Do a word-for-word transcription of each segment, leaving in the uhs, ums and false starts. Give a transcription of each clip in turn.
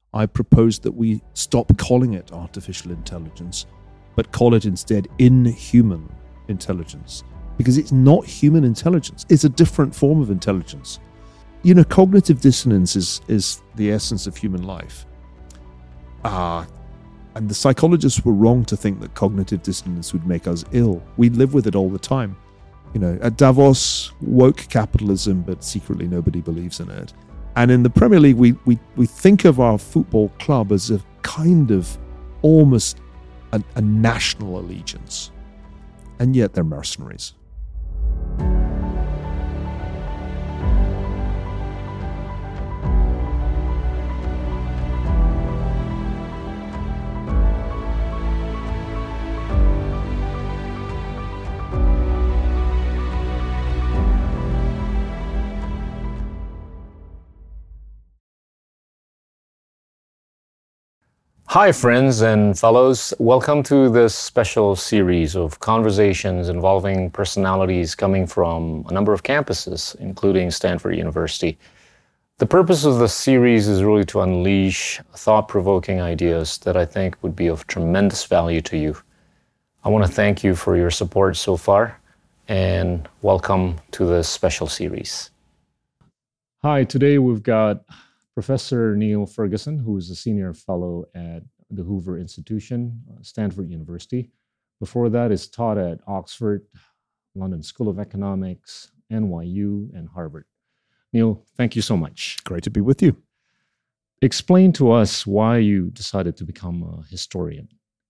I proposed that we stop calling it artificial intelligence, but call it instead inhuman intelligence, because it's not human intelligence. It's a different form of intelligence. You know, cognitive dissonance is, is the essence of human life. Ah, and the psychologists were wrong to think that cognitive dissonance would make us ill. We live with it all the time. You know, at Davos, woke capitalism, but secretly nobody believes in it. And in the Premier League, we, we, we think of our football club as a kind of almost a, a national allegiance. And yet they're mercenaries. Hi friends and fellows, welcome to this special series of conversations involving personalities coming from a number of campuses, including Stanford University. The purpose of this series is really to unleash thought-provoking ideas that I think would be of tremendous value to you. I want to thank you for your support so far, and welcome to this special series. Hi, today we've got Professor Neil Ferguson, who is a senior fellow at the Hoover Institution, Stanford University. Before that, is taught at Oxford, London School of Economics, N Y U, and Harvard. Neil, thank you so much. Great to be with you. Explain to us why you decided to become a historian.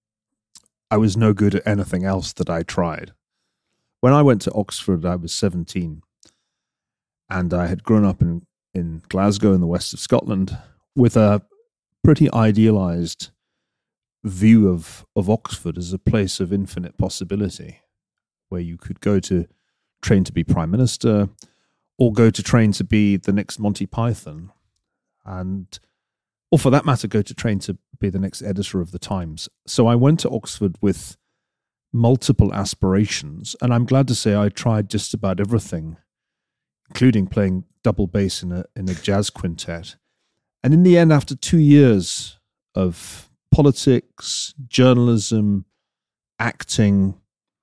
I was no good at anything else that I tried. When I went to Oxford, I was seventeen, and I had grown up in in Glasgow in the west of Scotland with a pretty idealized view of, of Oxford as a place of infinite possibility, where you could go to train to be prime minister or go to train to be the next Monty Python, and or for that matter, go to train to be the next editor of the Times. So I went to Oxford with multiple aspirations, and I'm glad to say I tried just about everything, including playing double bass in a in a jazz quintet. And in the end, after two years of politics, journalism, acting,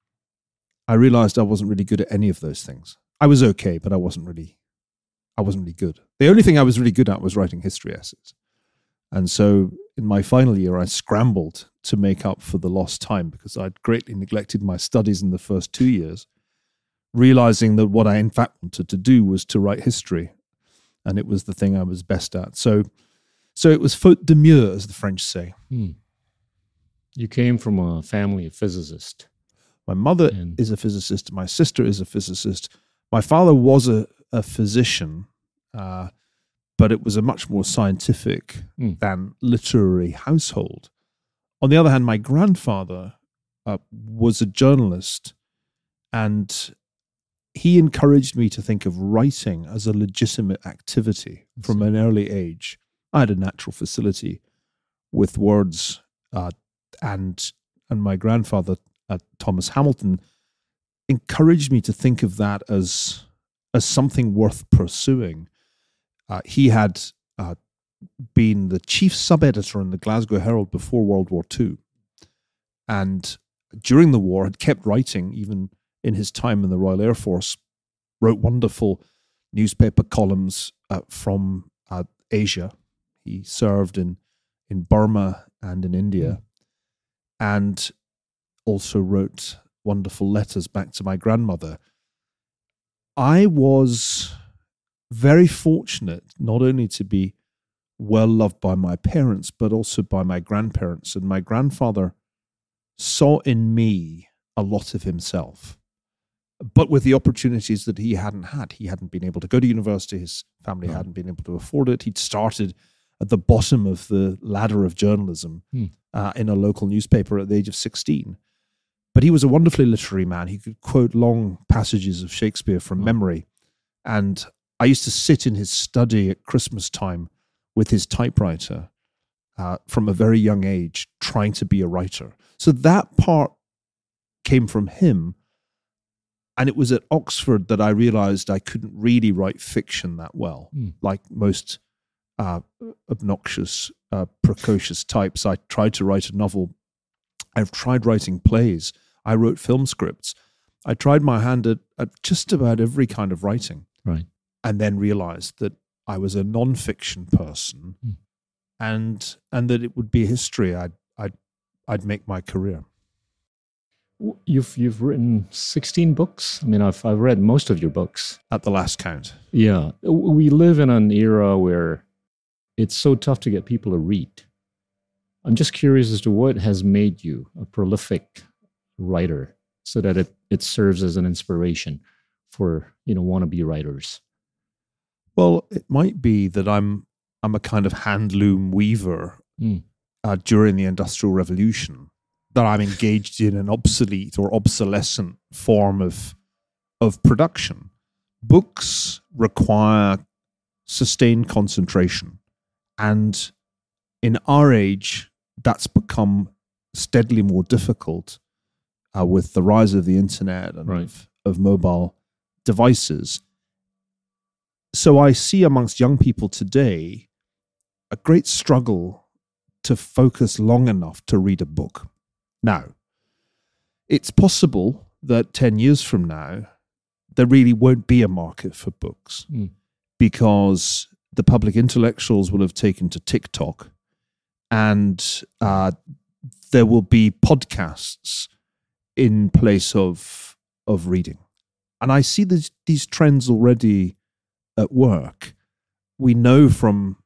I realized I wasn't really good at any of those things. I was okay, but I wasn't really, I wasn't really good. The only thing I was really good at was writing history essays. And so in my final year, I scrambled to make up for the lost time because I'd greatly neglected my studies in the first two years. Realizing that what I in fact wanted to do was to write history, and it was the thing I was best at. So so it was faute de mieux, as the French say. Hmm. You came from a family of physicists. My mother and... is a physicist. My sister is a physicist. My father was a, a physician, uh, but it was a much more scientific hmm. than literary household. On the other hand, my grandfather uh, was a journalist, and he encouraged me to think of writing as a legitimate activity from an early age. I had a natural facility with words, uh, and and my grandfather, uh, Thomas Hamilton, encouraged me to think of that as as something worth pursuing. Uh, he had uh, been the chief sub-editor in the Glasgow Herald before World War Two, and during the war had kept writing even in his time in the Royal Air Force, wrote wonderful newspaper columns uh, from uh, Asia. He served in, in Burma and in India, mm. and also wrote wonderful letters back to my grandmother. I was very fortunate not only to be well loved by my parents, but also by my grandparents. And my grandfather saw in me a lot of himself, but with the opportunities that he hadn't had. He hadn't been able to go to university. His family hadn't been able to afford it. He'd started at the bottom of the ladder of journalism hmm. uh, in a local newspaper at the age of sixteen. But he was a wonderfully literary man. He could quote long passages of Shakespeare from oh. memory. And I used to sit in his study at Christmas time with his typewriter uh, from a very young age, trying to be a writer. So that part came from him. And it was at Oxford that I realized I couldn't really write fiction that well, mm. like most uh, obnoxious uh, precocious types. I tried to write a novel. I've tried writing plays. I wrote film scripts. I tried my hand at, at just about every kind of writing. Right. And then realized that I was a non-fiction person mm. and and that it would be history I'd, I'd, I'd make my career. You've you've written sixteen books. I mean, I've I've read most of your books at the last count. Yeah, we live in an era where it's so tough to get people to read. I'm just curious as to what has made you a prolific writer, so that it it serves as an inspiration for, you know, wannabe writers. Well, it might be that I'm I'm a kind of hand loom weaver mm. uh, during the Industrial Revolution. That I'm engaged in an obsolete or obsolescent form of of production. Books require sustained concentration, and in our age, that's become steadily more difficult uh, with the rise of the internet and right. of, of mobile devices. So I see amongst young people today a great struggle to focus long enough to read a book. Now, it's possible that ten years from now, there really won't be a market for books mm. because the public intellectuals will have taken to TikTok and uh, there will be podcasts in place of, of reading. And I see this, these trends already at work. We know from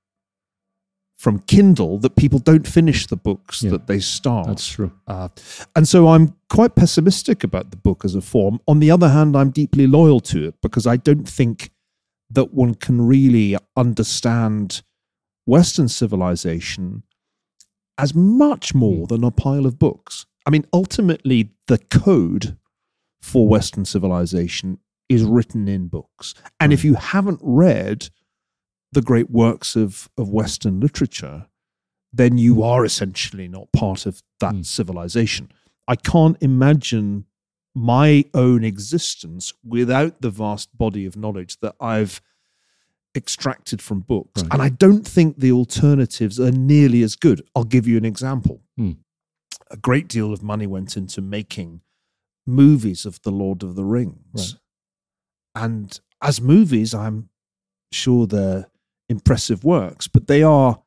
from Kindle that people don't finish the books yeah, that they start. That's true. Uh, and so I'm quite pessimistic about the book as a form. On the other hand, I'm deeply loyal to it because I don't think that one can really understand Western civilization as much more than a pile of books. I mean, ultimately, the code for Western civilization is written in books. And if you haven't read the great works of, of Western literature, then you are essentially not part of that mm. civilization. I can't imagine my own existence without the vast body of knowledge that I've extracted from books. Right. And I don't think the alternatives are nearly as good. I'll give you an example. Mm. A great deal of money went into making movies of The Lord of the Rings. Right. And as movies, I'm sure they're impressive works, but they are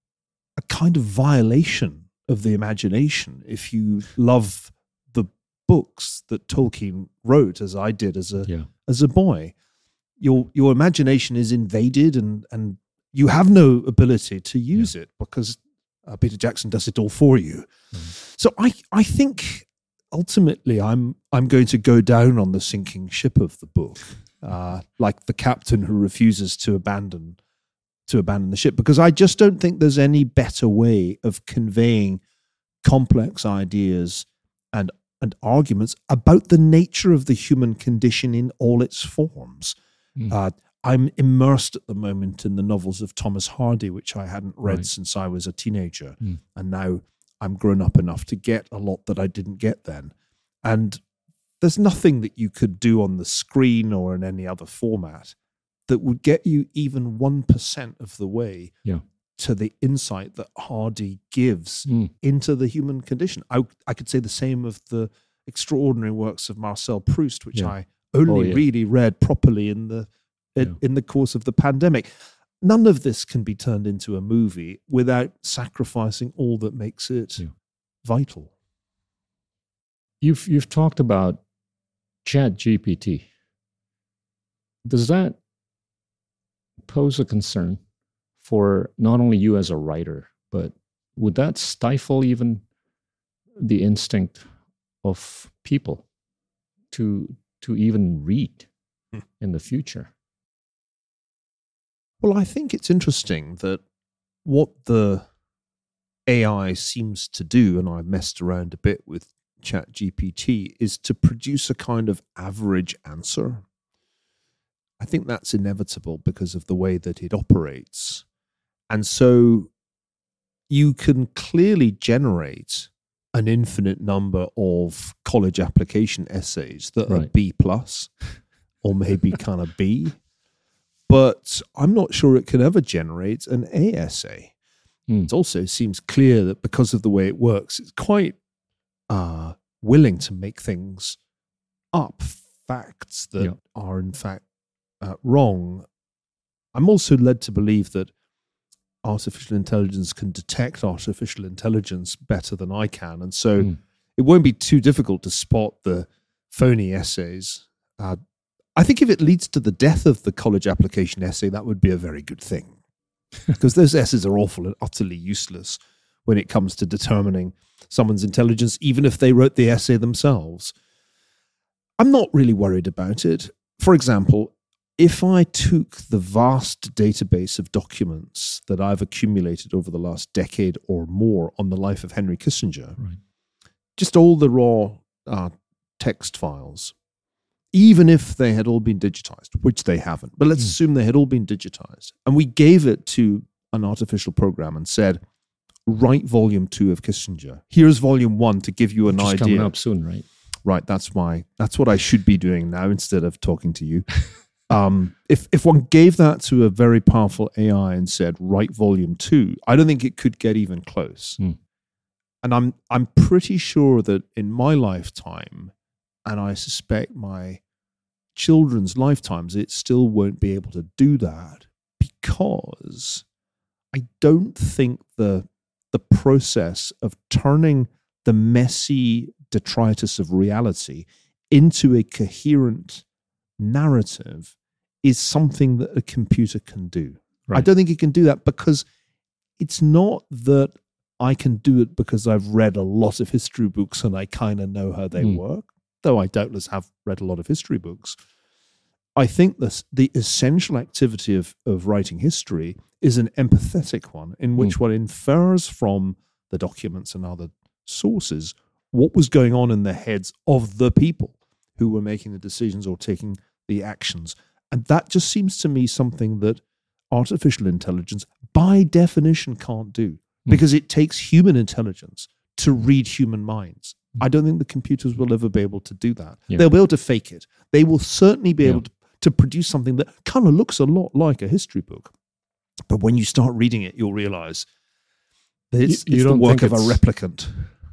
a kind of violation of the imagination if you love the books that Tolkien wrote, as I did as a yeah. as a boy. Your your imagination is invaded, and and you have no ability to use yeah. it because uh, Peter Jackson does it all for you. Mm. So I I think ultimately I'm I'm going to go down on the sinking ship of the book, uh, like the captain who refuses to abandon. to abandon the ship, because I just don't think there's any better way of conveying complex ideas and and arguments about the nature of the human condition in all its forms. Mm. Uh, I'm immersed at the moment in the novels of Thomas Hardy, which I hadn't read right. since I was a teenager. Mm. And now I'm grown up enough to get a lot that I didn't get then. And there's nothing that you could do on the screen or in any other format that would get you even one percent of the way yeah. to the insight that Hardy gives mm. into the human condition. I, I could say the same of the extraordinary works of Marcel Proust, which yeah. I only oh, yeah. really read properly in the in, yeah. in the course of the pandemic. None of this can be turned into a movie without sacrificing all that makes it yeah. vital. You've you've talked about ChatGPT. Does that pose a concern for not only you as a writer, but would that stifle even the instinct of people to to even read hmm. in the future? Well, I think it's interesting that what the A I seems to do, and I've messed around a bit with ChatGPT, is to produce a kind of average answer. I think that's inevitable because of the way that it operates. And so you can clearly generate an infinite number of college application essays that right. are B plus or maybe kind of B. But I'm not sure it can ever generate an A essay. Mm. It also seems clear that because of the way it works, it's quite uh, willing to make things up, facts that Yeah. are in fact uh, wrong. I'm also led to believe that artificial intelligence can detect artificial intelligence better than I can. And so Mm. it won't be too difficult to spot the phony essays. Uh, I think if it leads to the death of the college application essay, that would be a very good thing. Because those essays are awful and utterly useless when it comes to determining someone's intelligence, even if they wrote the essay themselves. I'm not really worried about it. For example, if I took the vast database of documents that I've accumulated over the last decade or more on the life of Henry Kissinger, Right. just all the raw uh, text files, even if they had all been digitized, which they haven't, but let's Mm. assume they had all been digitized, and we gave it to an artificial program and said, write volume two of Kissinger. Here's volume one to give you an Which is idea. coming up soon, right? Right, that's my that's what I should be doing now instead of talking to you. Um, if if one gave that to a very powerful A I and said, write volume two, I don't think it could get even close. Mm. And I'm I'm pretty sure that in my lifetime, and I suspect my children's lifetimes, it still won't be able to do that, because I don't think the the process of turning the messy detritus of reality into a coherent narrative is something that a computer can do. I Right. don't think it can do that, because it's not that I can do it because I've read a lot of history books and I kind of know how they Mm. work, though I doubtless have read a lot of history books. I think this, the essential activity of, of writing history is an empathetic one, in which Mm. one infers from the documents and other sources what was going on in the heads of the people who were making the decisions or taking the actions. And that just seems to me something that artificial intelligence, by definition, can't do, Mm. because it takes human intelligence to read human minds. I don't think the computers will ever be able to do that. Yeah. They'll be able to fake it. They will certainly be Yeah. able to, to produce something that kind of looks a lot like a history book. But when you start reading it, you'll realize that it's, You- you it's the don't work think of a it's- replicant.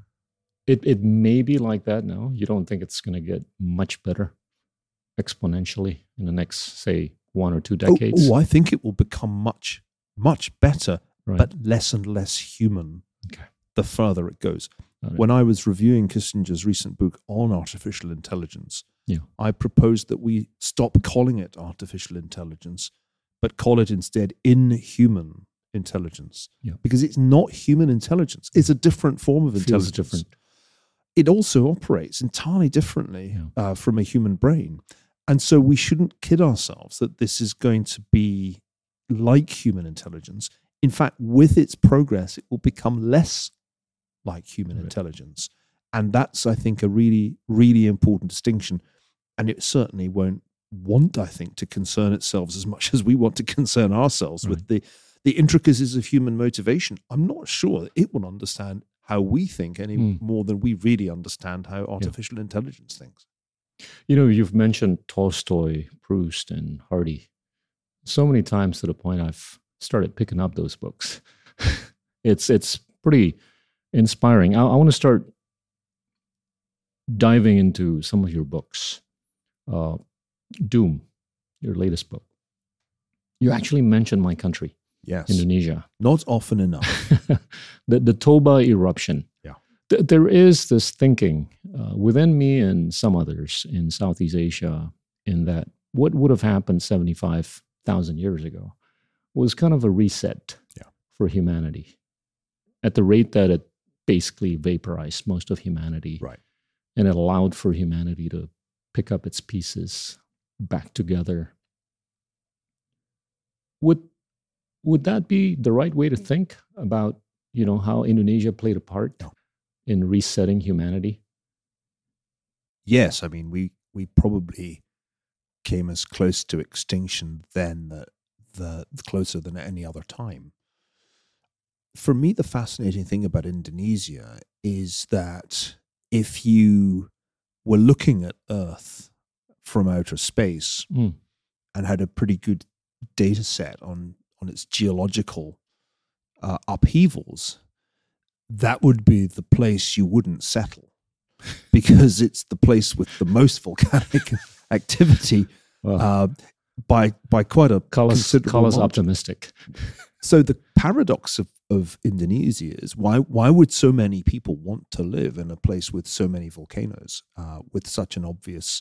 It it may be like that now. You don't think it's going to get much better exponentially in the next, say, one or two Oh, decades? oh, I think it will become much, much better, Right. but less and less human Okay. the further it goes. Got it. When I was reviewing Kissinger's recent book on artificial intelligence, Yeah. I proposed that we stop calling it artificial intelligence, but call it instead inhuman intelligence. Yeah. Because it's not human intelligence. It's a different form of Feels intelligence. different. It also operates entirely differently Yeah. uh, from a human brain. And so we shouldn't kid ourselves that this is going to be like human intelligence. In fact, with its progress, it will become less like human Right. intelligence. And that's, I think, a really, really important distinction. And it certainly won't want, I think, to concern itself as much as we want to concern ourselves with the, the intricacies of human motivation. I'm not sure that it will understand how we think any Mm. more than we really understand how artificial intelligence thinks. You know, you've mentioned Tolstoy, Proust, and Hardy so many times to the point I've started picking up those books. it's it's pretty inspiring. I, I want to start diving into some of your books. Uh, Doom, your latest book. You actually mentioned my country, Yes. Indonesia. Not often enough. the, the Toba eruption. Yeah. Th- there is this thinking uh, within me and some others in Southeast Asia, in that what would have happened seventy-five thousand years ago was kind of a reset Yeah. for humanity at the rate that it basically vaporized most of humanity. Right. And it allowed for humanity to pick up its pieces back together. Would would that be the right way to think about, you know, how Indonesia played a part No. in resetting humanity? Yes, I mean, we we probably came as close to extinction then that the closer than at any other time. For me, the fascinating thing about Indonesia is that if you were looking at Earth from outer space Mm. and had a pretty good data set on on its geological uh, upheavals, that would be the place you wouldn't settle, because it's the place with the most volcanic activity Well, uh, by by quite a call us, considerable call us margin. optimistic. So the paradox of, of Indonesia is why why would so many people want to live in a place with so many volcanoes uh, with such an obvious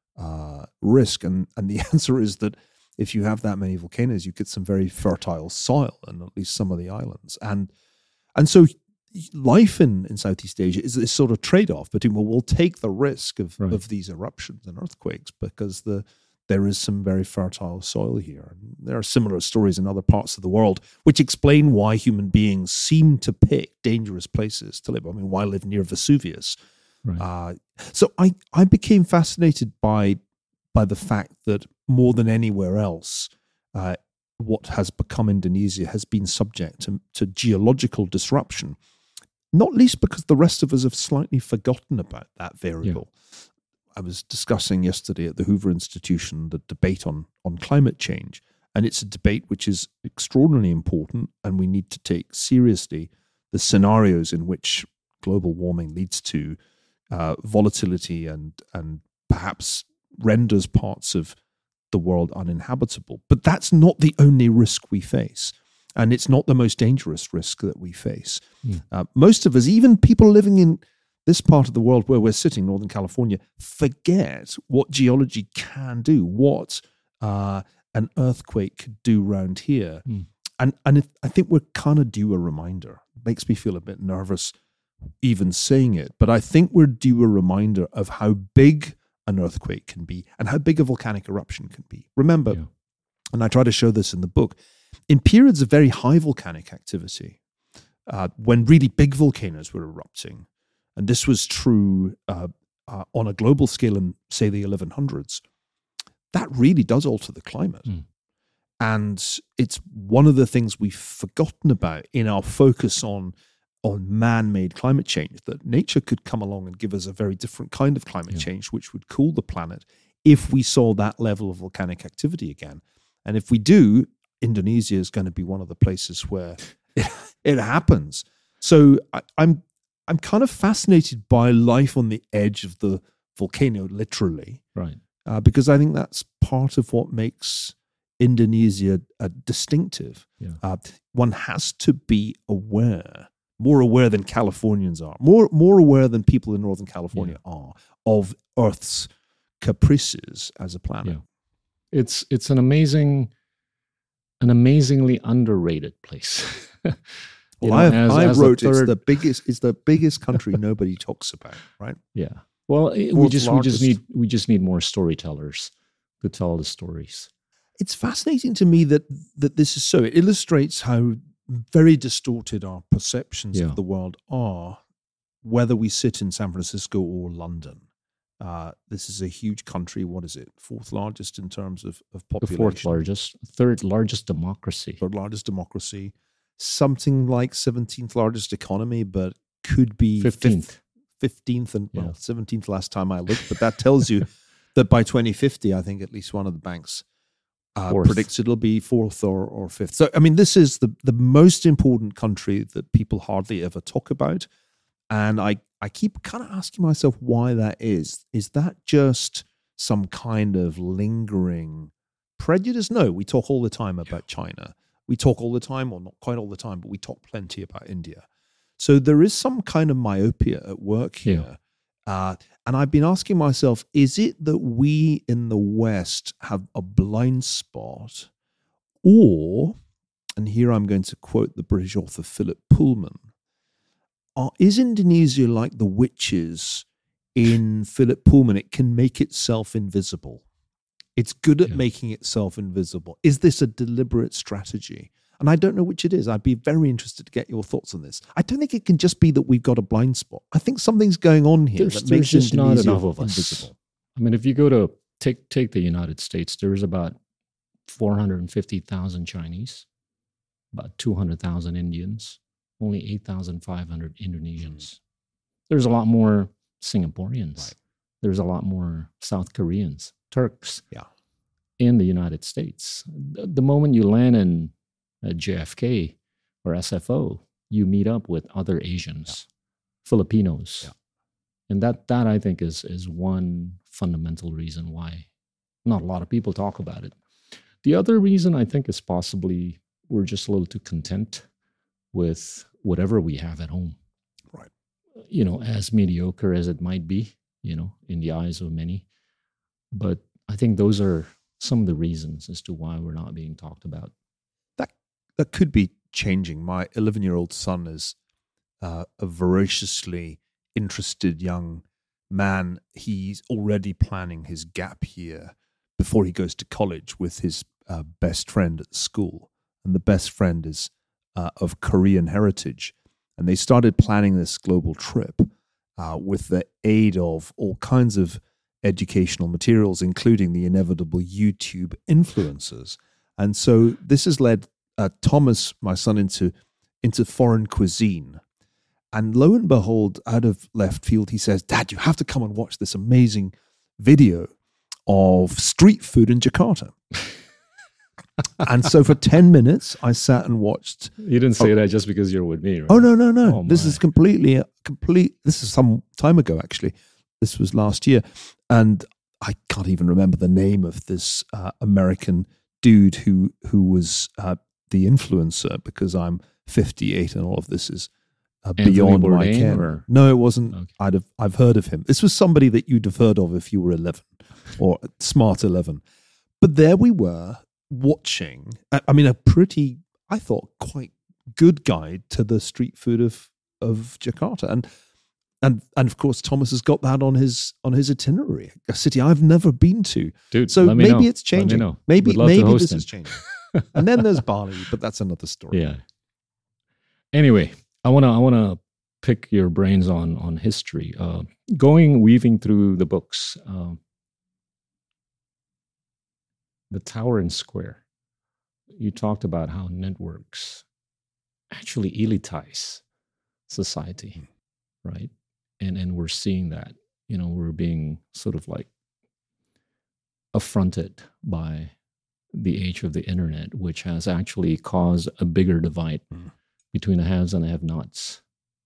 uh, risk? And and the answer is that if you have that many volcanoes, you get some very fertile soil in at least some of the islands. And and so life in, in Southeast Asia is this sort of trade-off between, well, we'll take the risk of, Right. of these eruptions and earthquakes because the there is some very fertile soil here. And there are similar stories in other parts of the world which explain why human beings seem to pick dangerous places to live. I mean, why live near Vesuvius? Right. Uh, so I, I became fascinated by by the fact that more than anywhere else, uh, what has become Indonesia has been subject to, to geological disruption, not least because the rest of us have slightly forgotten about that variable. I was discussing yesterday at the Hoover Institution the debate on, on climate change, and it's a debate which is extraordinarily important, and we need to take seriously the scenarios in which global warming leads to uh, volatility and and perhaps renders parts of the world uninhabitable. But that's not the only risk we face, and it's not the most dangerous risk that we face. Mm. Uh, most of us, even people living in this part of the world where we're sitting, Northern California, forget what geology can do, what uh, an earthquake could do around here. Mm. And and it, I think we're kind of due a reminder. It makes me feel a bit nervous even saying it, but I think we're due a reminder of how big an earthquake can be and how big a volcanic eruption can be. Remember, Yeah. and I try to show this in the book, in periods of very high volcanic activity, uh, when really big volcanoes were erupting, and this was true uh, uh, on a global scale in, say, the eleven hundreds, that really does alter the climate. Mm. And it's one of the things we've forgotten about in our focus on, on man-made climate change, that nature could come along and give us a very different kind of climate Yeah. change, which would cool the planet if we saw that level of volcanic activity again. And if we do, Indonesia is going to be one of the places where it, it happens. So I, I'm I'm kind of fascinated by life on the edge of the volcano, literally, Right. uh, because I think that's part of what makes Indonesia uh, distinctive. Yeah. Uh, one has to be aware, more aware than Californians are, more more aware than people in Northern California are of Earth's caprices as a planet. Yeah. It's it's an amazing, an amazingly underrated place. You Well, know, I, as- I as wrote the it's third- the biggest it's the biggest country nobody talks about, right? Yeah. Well, it- we Fourth just we largest. just need we just need more storytellers to tell the stories. It's fascinating to me that that this is so. It illustrates how very distorted our perceptions Yeah. of the world are, whether we sit in San Francisco or London. Uh, this is a huge country. What is it? Fourth largest in terms of, of The population. fourth largest, third largest democracy. Third largest democracy. Something like seventeenth largest economy, but could be Fifteenth. fifteenth and well, Yeah. seventeenth last time I looked. But that tells you that by twenty fifty, I think at least one of the banks uh, Fourth. predicts it'll be fourth or, or fifth. So, I mean, this is the, the most important country that people hardly ever talk about. And I, I keep kind of asking myself why that is. Is that just some kind of lingering prejudice? No, we talk all the time about China. We talk all the time, or not quite all the time, but we talk plenty about India. So there is some kind of myopia at work here. Uh, and I've been asking myself, is it that we in the West have a blind spot? Or, and here I'm going to quote the British author Philip Pullman, uh, is Indonesia like the witches in Philip Pullman? It can make itself invisible. It's good at Yeah. making itself invisible. Is this a deliberate strategy? And I don't know which it is. I'd be very interested to get your thoughts on this. I don't think it can just be that we've got a blind spot. I think something's going on here There's, that there's makes just not Indonesia enough of us. invisible. I mean, if you go to take take the United States, there's about four hundred fifty thousand Chinese, about two hundred thousand Indians, only eight thousand five hundred Indonesians. There's a lot more Singaporeans. Right. There's a lot more South Koreans, Turks Yeah. in the United States. The, the moment you land in uh, J F K, or S F O, you meet up with other Asians, yeah. Filipinos. Yeah. And that, that I think is, is one fundamental reason why not a lot of people talk about it. The other reason I think is possibly we're just a little too content with whatever we have at home. Right. You know, as mediocre as it might be, you know, in the eyes of many. But I think those are some of the reasons as to why we're not being talked about. That that could be changing. My eleven-year-old son is uh, a voraciously interested young man. He's already planning his gap year before he goes to college with his uh, best friend at school. And the best friend is uh, of Korean heritage. And they started planning this global trip uh, with the aid of all kinds of educational materials, including the inevitable YouTube influencers. And so this has led uh, Thomas, my son, into, into foreign cuisine. And lo and behold, out of left field, he says, "Dad, you have to come and watch this amazing video of street food in Jakarta." And so for ten minutes, I sat and watched. You didn't say oh, that just because you're with me, right? Oh, no, no, no. Oh, this is completely, complete. This is some time ago, actually. This was last year. And I can't even remember the name of this uh, American dude who, who was uh, the influencer, because I'm fifty-eight and all of this is Uh, beyond my ken. Or? No, it wasn't. Okay. I'd have, I've heard of him. This was somebody that you'd have heard of if you were eleven or smart eleven. But there we were watching, I mean, a pretty, I thought, quite good guide to the street food of, of Jakarta. And, and, and of course, Thomas has got that on his, on his itinerary, a city I've never been to. Dude, so let me maybe know. it's changing. Let me know. Maybe, maybe this him. is changing. And then there's Bali, but that's another story. Yeah. Anyway, I want to I want to pick your brains on on history. Uh, going weaving through the books, uh, the Tower and Square. You talked about how networks actually elitize society, right? And and we're seeing that. You know, we're being sort of like affronted by the age of the internet, which has actually caused a bigger divide mm. between the haves and the have-nots.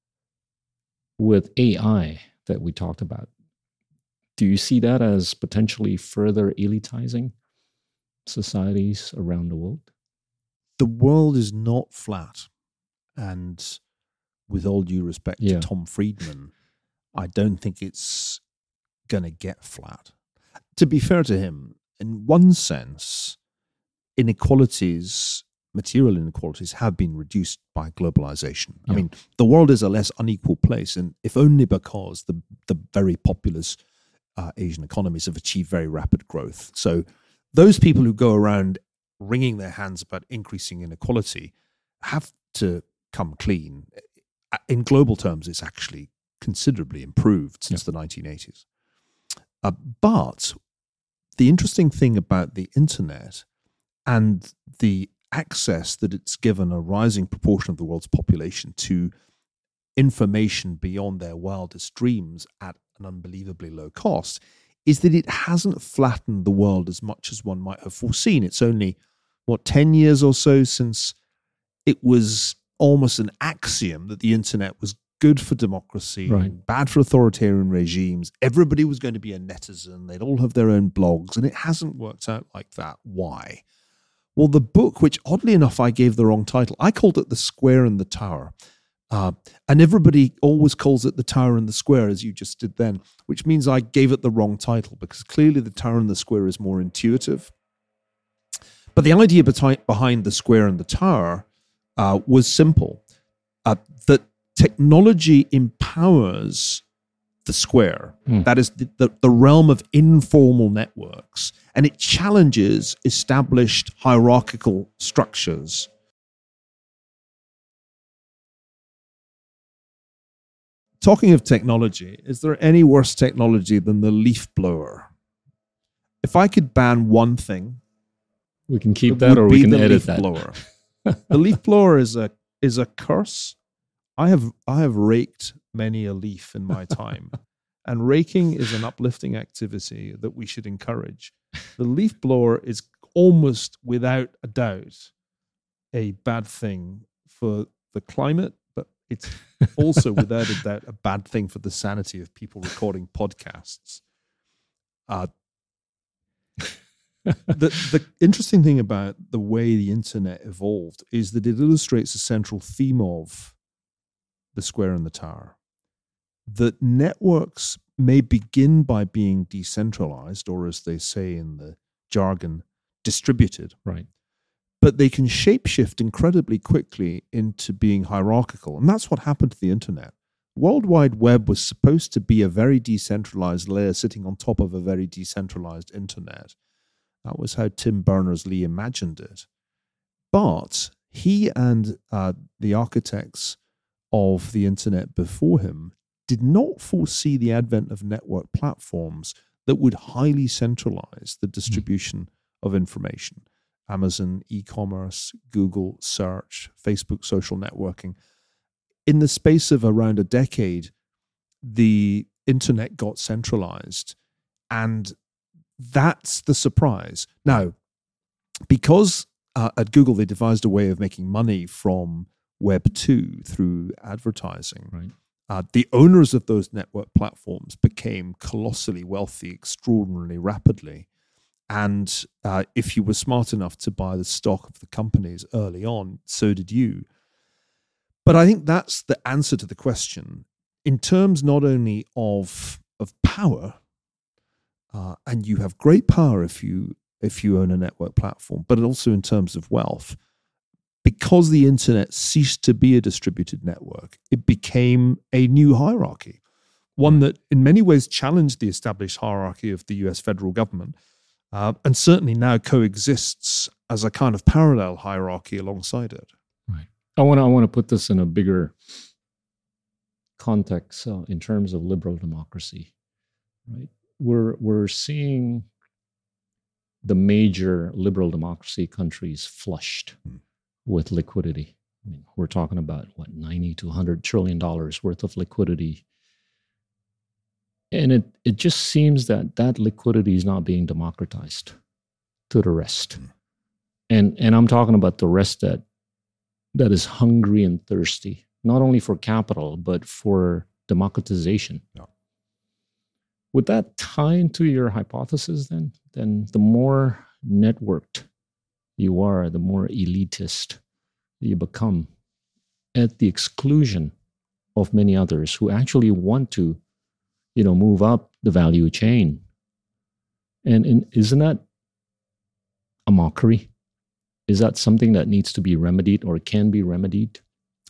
With A I that we talked about, do you see that as potentially further elitizing societies around the world? The world is not flat. And with all due respect yeah. to Tom Friedman, I don't think it's going to get flat. To be fair to him, in one sense, inequalities, material inequalities, have been reduced by globalization. Yeah. I mean, the world is a less unequal place, and if only because the the very populous uh, Asian economies have achieved very rapid growth. So those people who go around wringing their hands about increasing inequality have to come clean. In global terms, it's actually considerably improved since yeah. the nineteen eighties. Uh, but the interesting thing about the internet and the access that it's given a rising proportion of the world's population to information beyond their wildest dreams at an unbelievably low cost is that it hasn't flattened the world as much as one might have foreseen. It's only, what, ten years or so since it was almost an axiom that the internet was good for democracy, right. bad for authoritarian regimes. Everybody was going to be a netizen. They'd all have their own blogs, and it hasn't worked out like that. Why? Well, the book, which oddly enough I gave the wrong title, I called it The Square and the Tower. Uh, and everybody always calls it The Tower and the Square, as you just did then, which means I gave it the wrong title, because clearly The Tower and the Square is more intuitive. But the idea behind The Square and the Tower uh, was simple, uh, that technology empowers the square. Mm. That is the, the, the realm of informal networks, and it challenges established hierarchical structures. Talking of technology, is there any worse technology than the leaf blower? If I could ban one thing, we can keep that, or we can edit that. Blower. The leaf blower is a is a curse. I have I have raked many a leaf in my time, and raking is an uplifting activity that we should encourage. The leaf blower is almost without a doubt a bad thing for the climate, but it's also, without a doubt, a bad thing for the sanity of people recording podcasts. Uh, the the interesting thing about the way the internet evolved is that it illustrates a central theme of the square and the tower. That networks may begin by being decentralized, or as they say in the jargon, distributed. Right. But they can shapeshift incredibly quickly into being hierarchical. And that's what happened to the internet. World Wide Web was supposed to be a very decentralized layer sitting on top of a very decentralized internet. That was how Tim Berners-Lee imagined it. But he and uh, the architects of the internet before him did not foresee the advent of network platforms that would highly centralize the distribution mm. of information. Amazon, e-commerce, Google search, Facebook social networking. In the space of around a decade, the internet got centralized, and that's the surprise. Now, because uh, at Google they devised a way of making money from Web two through advertising, right. uh, the owners of those network platforms became colossally wealthy extraordinarily rapidly. And uh, if you were smart enough to buy the stock of the companies early on, so did you. But I think that's the answer to the question in terms not only of of power, uh, and you have great power if you if you own a network platform, but also in terms of wealth. Because the internet ceased to be a distributed network, it became a new hierarchy, one that in many ways challenged the established hierarchy of the U S federal government. Uh, and certainly now coexists as a kind of parallel hierarchy alongside it. Right. I want to I want to put this in a bigger context uh, in terms of liberal democracy. Right. We're we're seeing the major liberal democracy countries flushed hmm. with liquidity. I mean, we're talking about what ninety to one hundred trillion dollars worth of liquidity. And it, it just seems that that liquidity is not being democratized to the rest. Mm. And and I'm talking about the rest that that is hungry and thirsty, not only for capital, but for democratization. Yeah. Would that tie into your hypothesis then? Then the more networked you are, the more elitist you become at the exclusion of many others who actually want to you know, move up the value chain. And, and isn't that a mockery? Is that something that needs to be remedied or can be remedied?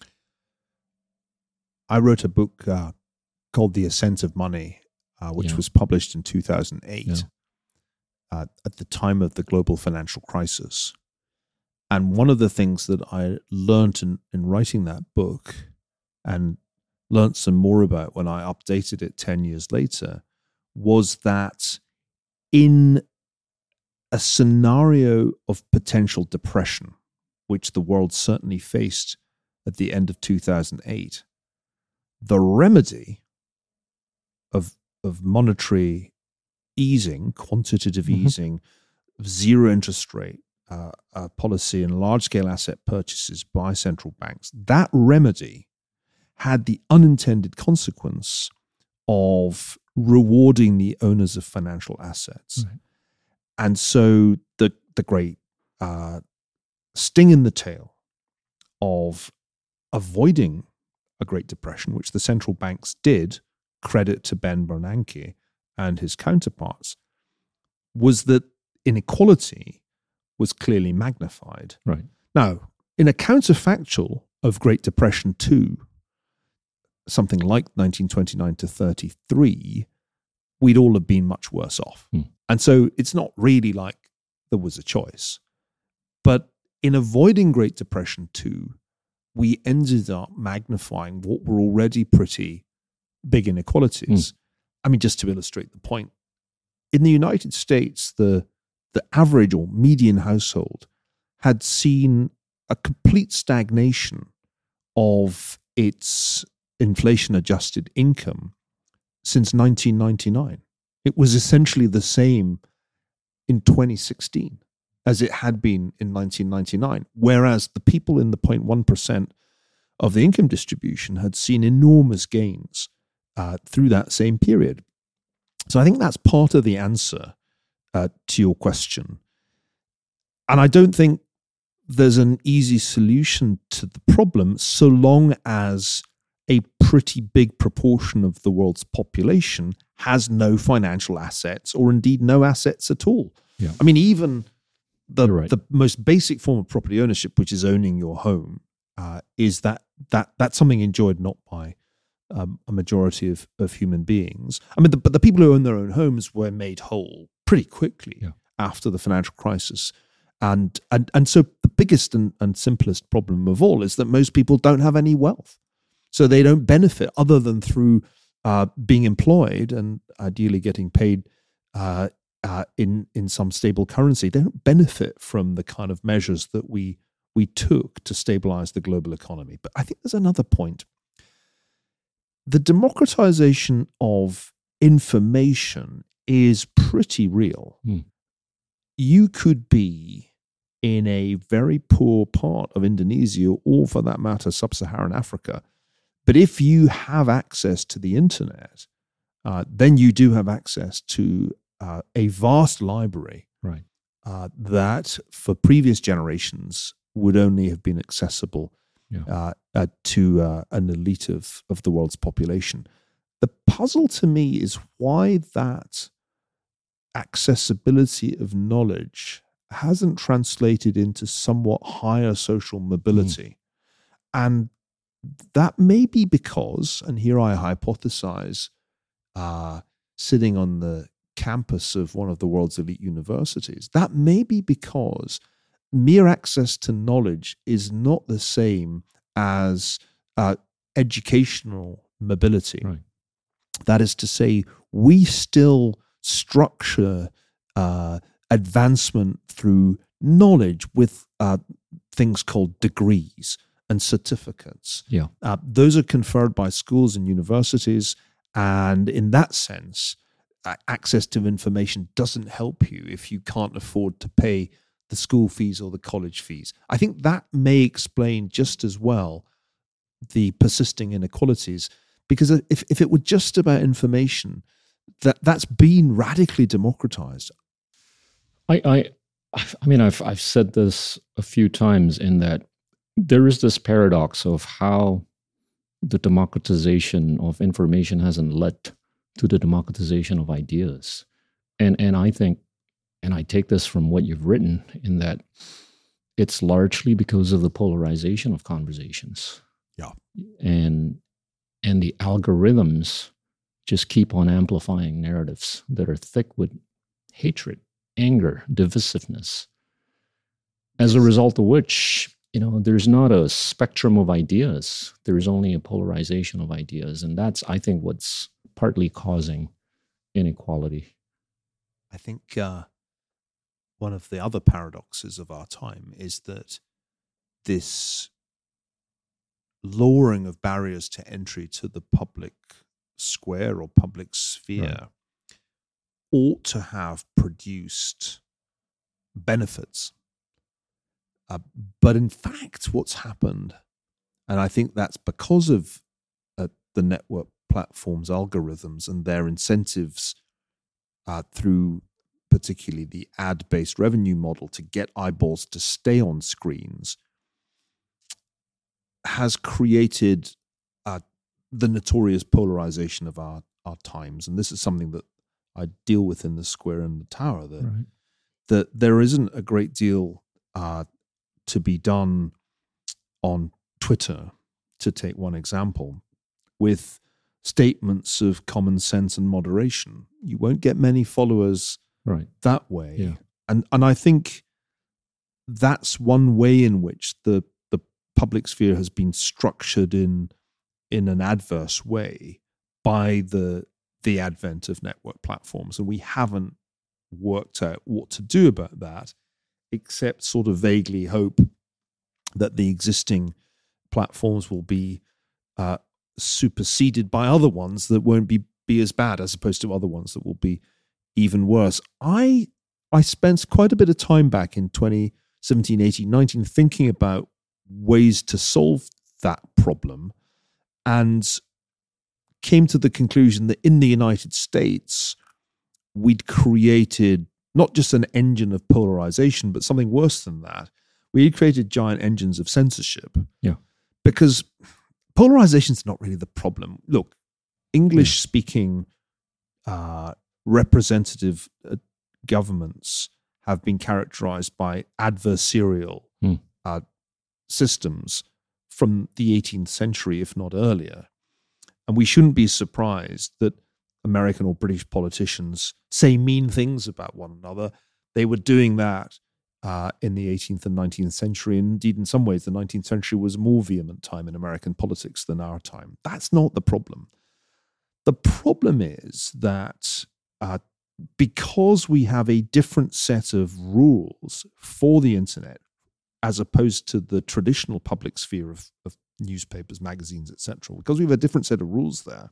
I wrote a book uh, called The Ascent of Money, uh, which yeah. was published in two thousand eight yeah. uh, at the time of the global financial crisis. And one of the things that I learned in, in writing that book and learned some more about when I updated it ten years later was that in a scenario of potential depression, which the world certainly faced at the end of two thousand eight, the remedy of, of monetary easing, quantitative mm-hmm. easing, zero interest rate uh, uh, policy and large-scale asset purchases by central banks, that remedy had the unintended consequence of rewarding the owners of financial assets. Right. And so the the great uh, sting in the tail of avoiding a Great Depression, which the central banks did, credit to Ben Bernanke and his counterparts, was that inequality was clearly magnified. Right. Now, in a counterfactual of Great Depression two, something like nineteen twenty-nine to thirty-three, we'd all have been much worse off. Hmm. And so it's not really like there was a choice. But in avoiding Great Depression two, we ended up magnifying what were already pretty big inequalities. Hmm. I mean, just to illustrate the point, in the United States, the, the average or median household had seen a complete stagnation of its inflation-adjusted income since nineteen ninety-nine. It was essentially the same in twenty sixteen as it had been in nineteen ninety-nine, whereas the people in the zero point one percent of the income distribution had seen enormous gains uh, through that same period. So I think that's part of the answer uh, to your question. And I don't think there's an easy solution to the problem so long as a pretty big proportion of the world's population has no financial assets or indeed no assets at all. Yeah. I mean, even the Right. the most basic form of property ownership, which is owning your home, uh, is that that that's something enjoyed not by um, a majority of, of human beings. I mean, the, but the people who own their own homes were made whole pretty quickly Yeah. after the financial crisis. And and and so the biggest and, and simplest problem of all is that most people don't have any wealth. So they don't benefit other than through uh, being employed and ideally getting paid uh, uh, in in some stable currency. They don't benefit from the kind of measures that we we took to stabilize the global economy. But I think there's another point. The democratization of information is pretty real. Hmm. You could be in a very poor part of Indonesia, or for that matter, sub-Saharan Africa. But if you have access to the internet, uh, then you do have access to uh, a vast library Right. uh, that for previous generations would only have been accessible Yeah. uh, uh, to uh, an elite of, of the world's population. The puzzle to me is why that accessibility of knowledge hasn't translated into somewhat higher social mobility. Mm. And that may be because, and here I hypothesize, uh, sitting on the campus of one of the world's elite universities, that may be because mere access to knowledge is not the same as uh, educational mobility. Right. That is to say, we still structure uh, advancement through knowledge with uh, things called degrees and certificates. Yeah. Uh, those are conferred by schools and universities, and in that sense, uh, access to information doesn't help you if you can't afford to pay the school fees or the college fees. I think that may explain just as well the persisting inequalities, because if, if it were just about information, that that's been radically democratized. I, I, I mean, I've I've said this a few times in that there is this paradox of how the democratization of information hasn't led to the democratization of ideas, and and I think, and I take this from what you've written, in that it's largely because of the polarization of conversations. Yeah, and and the algorithms just keep on amplifying narratives that are thick with hatred, anger, divisiveness, as a result of which, you know, there's not a spectrum of ideas. There's only a polarization of ideas. And that's, I think, what's partly causing inequality. I think uh, one of the other paradoxes of our time is that this lowering of barriers to entry to the public square or public sphere right. ought to have produced benefits. Uh, but in fact, what's happened, and I think that's because of uh, the network platforms' algorithms and their incentives uh, through particularly the ad-based revenue model to get eyeballs to stay on screens, has created uh, the notorious polarization of our, our times. And this is something that I deal with in the Square and the Tower, that, right. that there isn't a great deal uh, to be done on Twitter, to take one example, with statements of common sense and moderation. You won't get many followers right. that way. Yeah. And and I think that's one way in which the the public sphere has been structured in in an adverse way by the the advent of network platforms. And we haven't worked out what to do about that, except sort of vaguely hope that the existing platforms will be uh, superseded by other ones that won't be, be as bad, as opposed to other ones that will be even worse. I I spent quite a bit of time back in twenty seventeen, eighteen, nineteen thinking about ways to solve that problem and came to the conclusion that in the United States, we'd created not just an engine of polarization, but something worse than that. We had created giant engines of censorship. Yeah. Because polarization is not really the problem. Look, English-speaking uh, representative uh, governments have been characterized by adversarial mm. uh, systems from the eighteenth century, if not earlier. And we shouldn't be surprised that American or British politicians say mean things about one another. They were doing that uh, in the eighteenth and nineteenth century. And indeed, in some ways, the nineteenth century was a more vehement time in American politics than our time. That's not the problem. The problem is that uh, because we have a different set of rules for the internet, as opposed to the traditional public sphere of, of newspapers, magazines, et cetera, because we have a different set of rules there,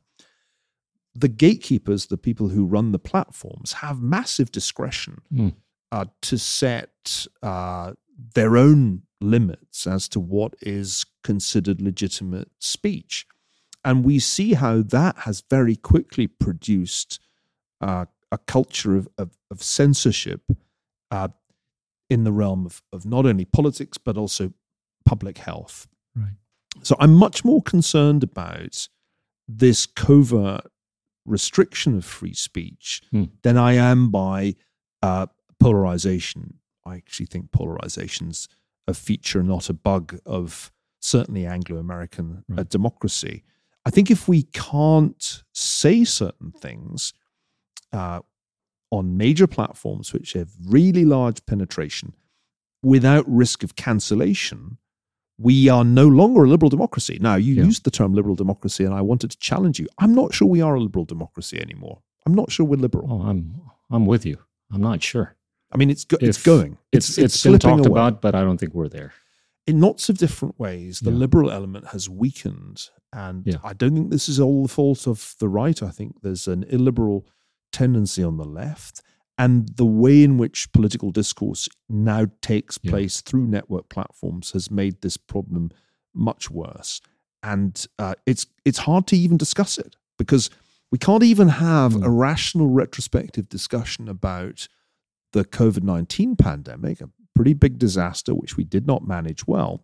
the gatekeepers, the people who run the platforms, have massive discretion mm. uh, to set uh, their own limits as to what is considered legitimate speech. And we see how that has very quickly produced uh, a culture of, of, of censorship uh, in the realm of, of not only politics, but also public health. Right. So I'm much more concerned about this covert restriction of free speech hmm. than I am by uh, polarization. I actually think polarization's a feature, not a bug, of certainly Anglo-American right. uh, democracy. I think if we can't say certain things uh, on major platforms which have really large penetration without risk of cancellation, we are no longer a liberal democracy. Now, you yeah. used the term liberal democracy, and I wanted to challenge you. I'm not sure we are a liberal democracy anymore. I'm not sure we're liberal. Oh, I'm I'm with you. I'm not sure. I mean, it's go, it's If going. It's It's, it's, it's been slipping talked away. about, but I don't think we're there. In lots of different ways, the Yeah. liberal element has weakened. And Yeah. I don't think this is all the fault of the right. I think there's an illiberal tendency on the left. And the way in which political discourse now takes Yeah. place through network platforms has made this problem much worse. And uh, it's it's hard to even discuss it because we can't even have Mm. a rational retrospective discussion about the COVID nineteen pandemic, a pretty big disaster which we did not manage well,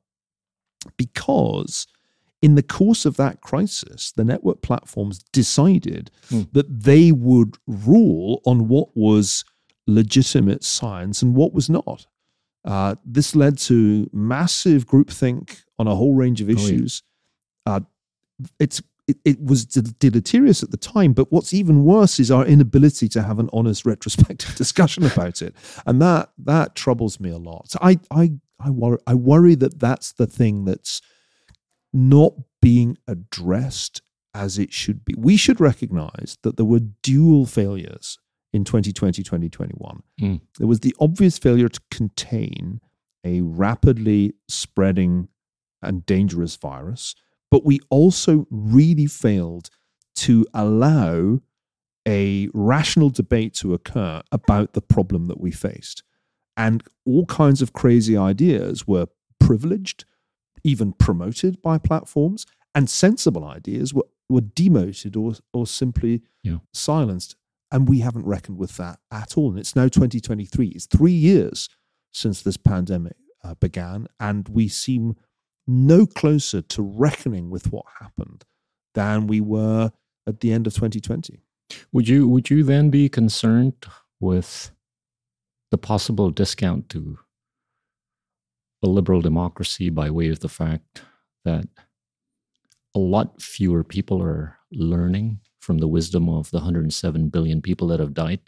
because in the course of that crisis, the network platforms decided Mm. that they would rule on what was legitimate science and what was not. Uh, this led to massive groupthink on a whole range of Oh, yeah. issues. Uh, it's it, it was de- deleterious at the time, but what's even worse is our inability to have an honest retrospective discussion about it, and that that troubles me a lot. So I I I worry I worry that that's the thing that's not being addressed as it should be. We should recognize that there were dual failures in twenty twenty, twenty twenty-one. Mm. There was the obvious failure to contain a rapidly spreading and dangerous virus, but we also really failed to allow a rational debate to occur about the problem that we faced. And all kinds of crazy ideas were privileged, even promoted by platforms, and sensible ideas were, were demoted or, or simply Yeah. silenced. And we haven't reckoned with that at all. And it's now twenty twenty-three. It's three years since this pandemic uh, began, and we seem no closer to reckoning with what happened than we were at the end of twenty twenty. Would you would you then be concerned with the possible discount to a liberal democracy by way of the fact that a lot fewer people are learning from the wisdom of the one hundred seven billion people that have died?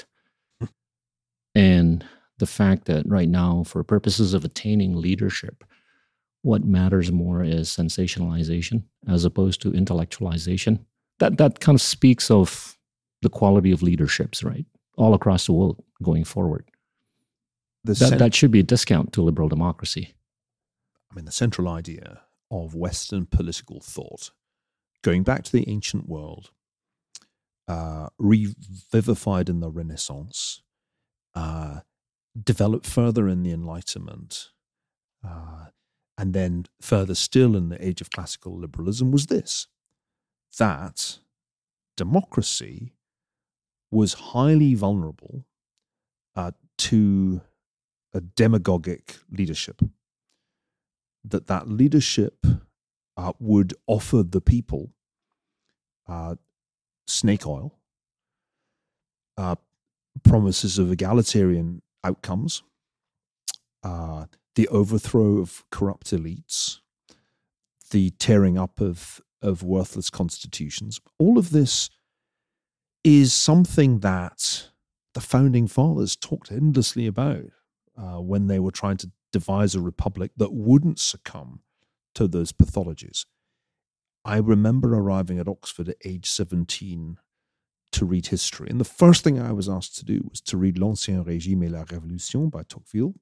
And the fact that right now, for purposes of attaining leadership, what matters more is sensationalization as opposed to intellectualization. That that kind of speaks of the quality of leaderships, right? All across the world going forward. The That, cen- that should be a discount to liberal democracy. I mean, the central idea of Western political thought, going back to the ancient world, uh, revivified in the Renaissance, uh, developed further in the Enlightenment, uh, and then further still in the age of classical liberalism, was this, that democracy was highly vulnerable uh, to a demagogic leadership, that that leadership uh, would offer the people uh, snake oil, uh, promises of egalitarian outcomes, uh, the overthrow of corrupt elites, the tearing up of, of worthless constitutions. All of this is something that the founding fathers talked endlessly about uh, when they were trying to devise a republic that wouldn't succumb to those pathologies. I remember arriving at Oxford at age seventeen to read history. And the first thing I was asked to do was to read L'Ancien Régime et la Révolution by Tocqueville.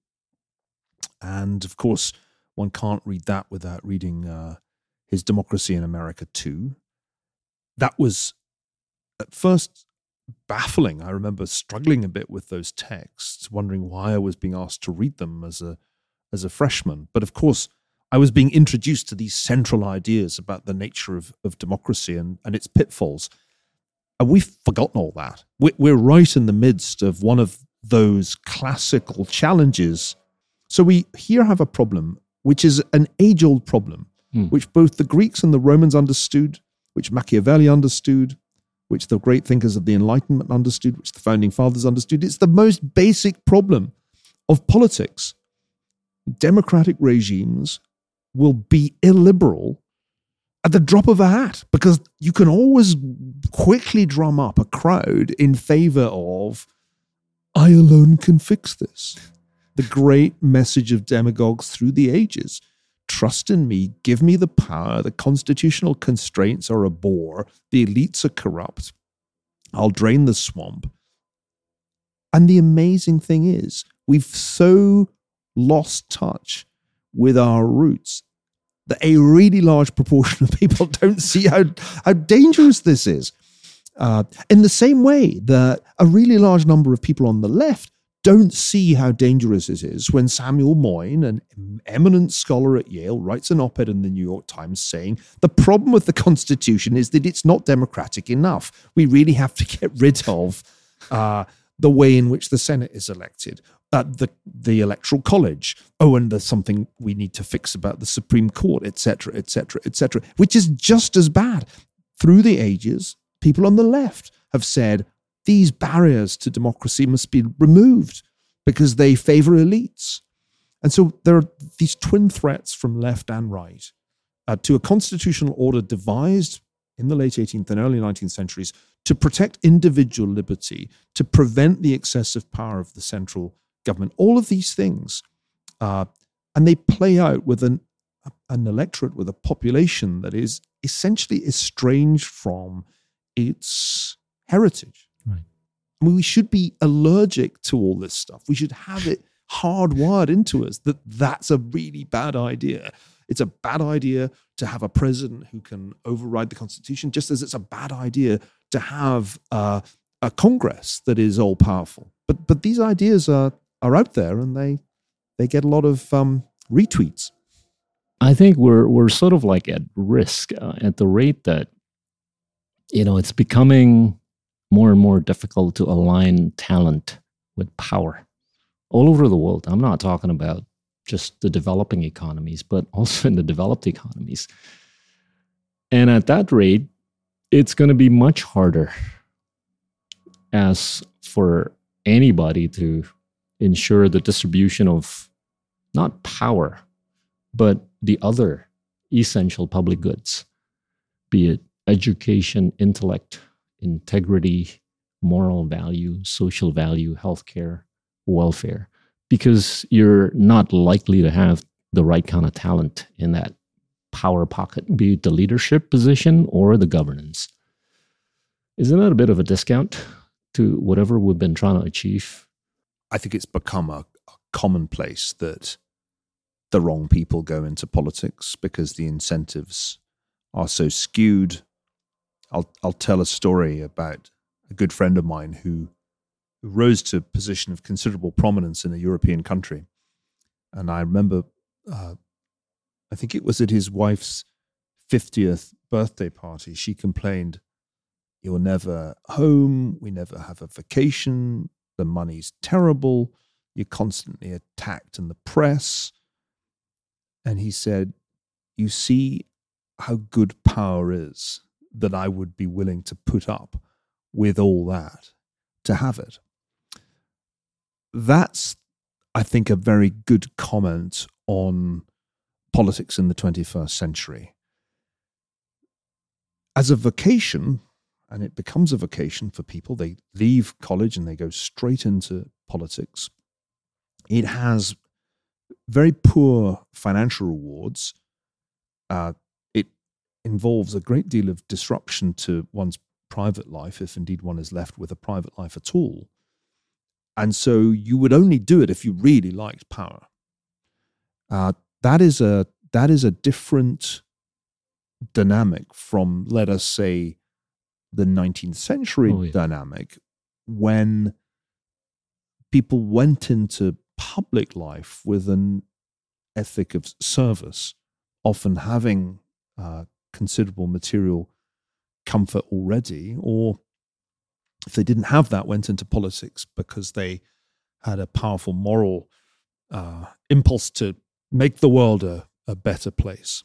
And of course, one can't read that without reading uh, his Democracy in America too. That was at first baffling. I remember struggling a bit with those texts, wondering why I was being asked to read them as a as a freshman. But of course, I was being introduced to these central ideas about the nature of, of democracy and, and its pitfalls. And we've forgotten all that. We're right in the midst of one of those classical challenges. So we here have a problem, which is an age-old problem, hmm. which both the Greeks and the Romans understood, which Machiavelli understood, which the great thinkers of the Enlightenment understood, which the founding fathers understood. It's the most basic problem of politics. Democratic regimes will be illiberal at the drop of a hat, because you can always quickly drum up a crowd in favor of, I alone can fix this. The great message of demagogues through the ages. Trust in me, give me the power, the constitutional constraints are a bore, the elites are corrupt, I'll drain the swamp. And the amazing thing is, we've so lost touch with our roots that a really large proportion of people don't see how, how dangerous this is. Uh, in the same way that a really large number of people on the left don't see how dangerous it is when Samuel Moyn, an eminent scholar at Yale, writes an op-ed in the New York Times saying, the problem with the Constitution is that it's not democratic enough. We really have to get rid of uh, the way in which the Senate is elected. Uh, the the Electoral College. Oh, and there's something we need to fix about the Supreme Court, et cetera, et cetera, et cetera, which is just as bad. Through the ages, people on the left have said these barriers to democracy must be removed because they favor elites. And so there are these twin threats from left and right uh, to a constitutional order devised in the late eighteenth and early nineteenth centuries to protect individual liberty, to prevent the excessive power of the central government, all of these things. Uh, and they play out with an, an electorate, with a population that is essentially estranged from its heritage. Right. I mean, we should be allergic to all this stuff. We should have it hardwired into us that that's a really bad idea. It's a bad idea to have a president who can override the Constitution, just as it's a bad idea to have uh, a Congress that is all-powerful. But but these ideas are are out there, and they they get a lot of um, retweets. I think we're we're sort of like at risk uh, at the rate that, you know, it's becoming more and more difficult to align talent with power all over the world. I'm not talking about just the developing economies, but also in the developed economies. And at that rate, it's going to be much harder as for anybody to ensure the distribution of not power, but the other essential public goods, be it education, intellect, integrity, moral value, social value, healthcare, welfare, because you're not likely to have the right kind of talent in that power pocket, be it the leadership position or the governance. Isn't that a bit of a discount to whatever we've been trying to achieve? I think it's become a, a commonplace that the wrong people go into politics because the incentives are so skewed. I'll I'll tell a story about a good friend of mine who, who rose to a position of considerable prominence in a European country. And I remember uh, I think it was at his wife's fiftieth birthday party, she complained, "You're never home, we never have a vacation, the money's terrible, you're constantly attacked in the press." And he said, "You see how good power is, that I would be willing to put up with all that to have it." That's, I think, a very good comment on politics in the twenty-first century. As a vocation, and it becomes a vocation for people, they leave college and they go straight into politics. It has very poor financial rewards. Uh, it involves a great deal of disruption to one's private life, if indeed one is left with a private life at all. And so you would only do it if you really liked power. Uh, that is a that is a different dynamic from, let us say, the nineteenth century oh, yeah. dynamic, when people went into public life with an ethic of service, often having uh, considerable material comfort already, or if they didn't have that, went into politics because they had a powerful moral uh, impulse to make the world a, a better place.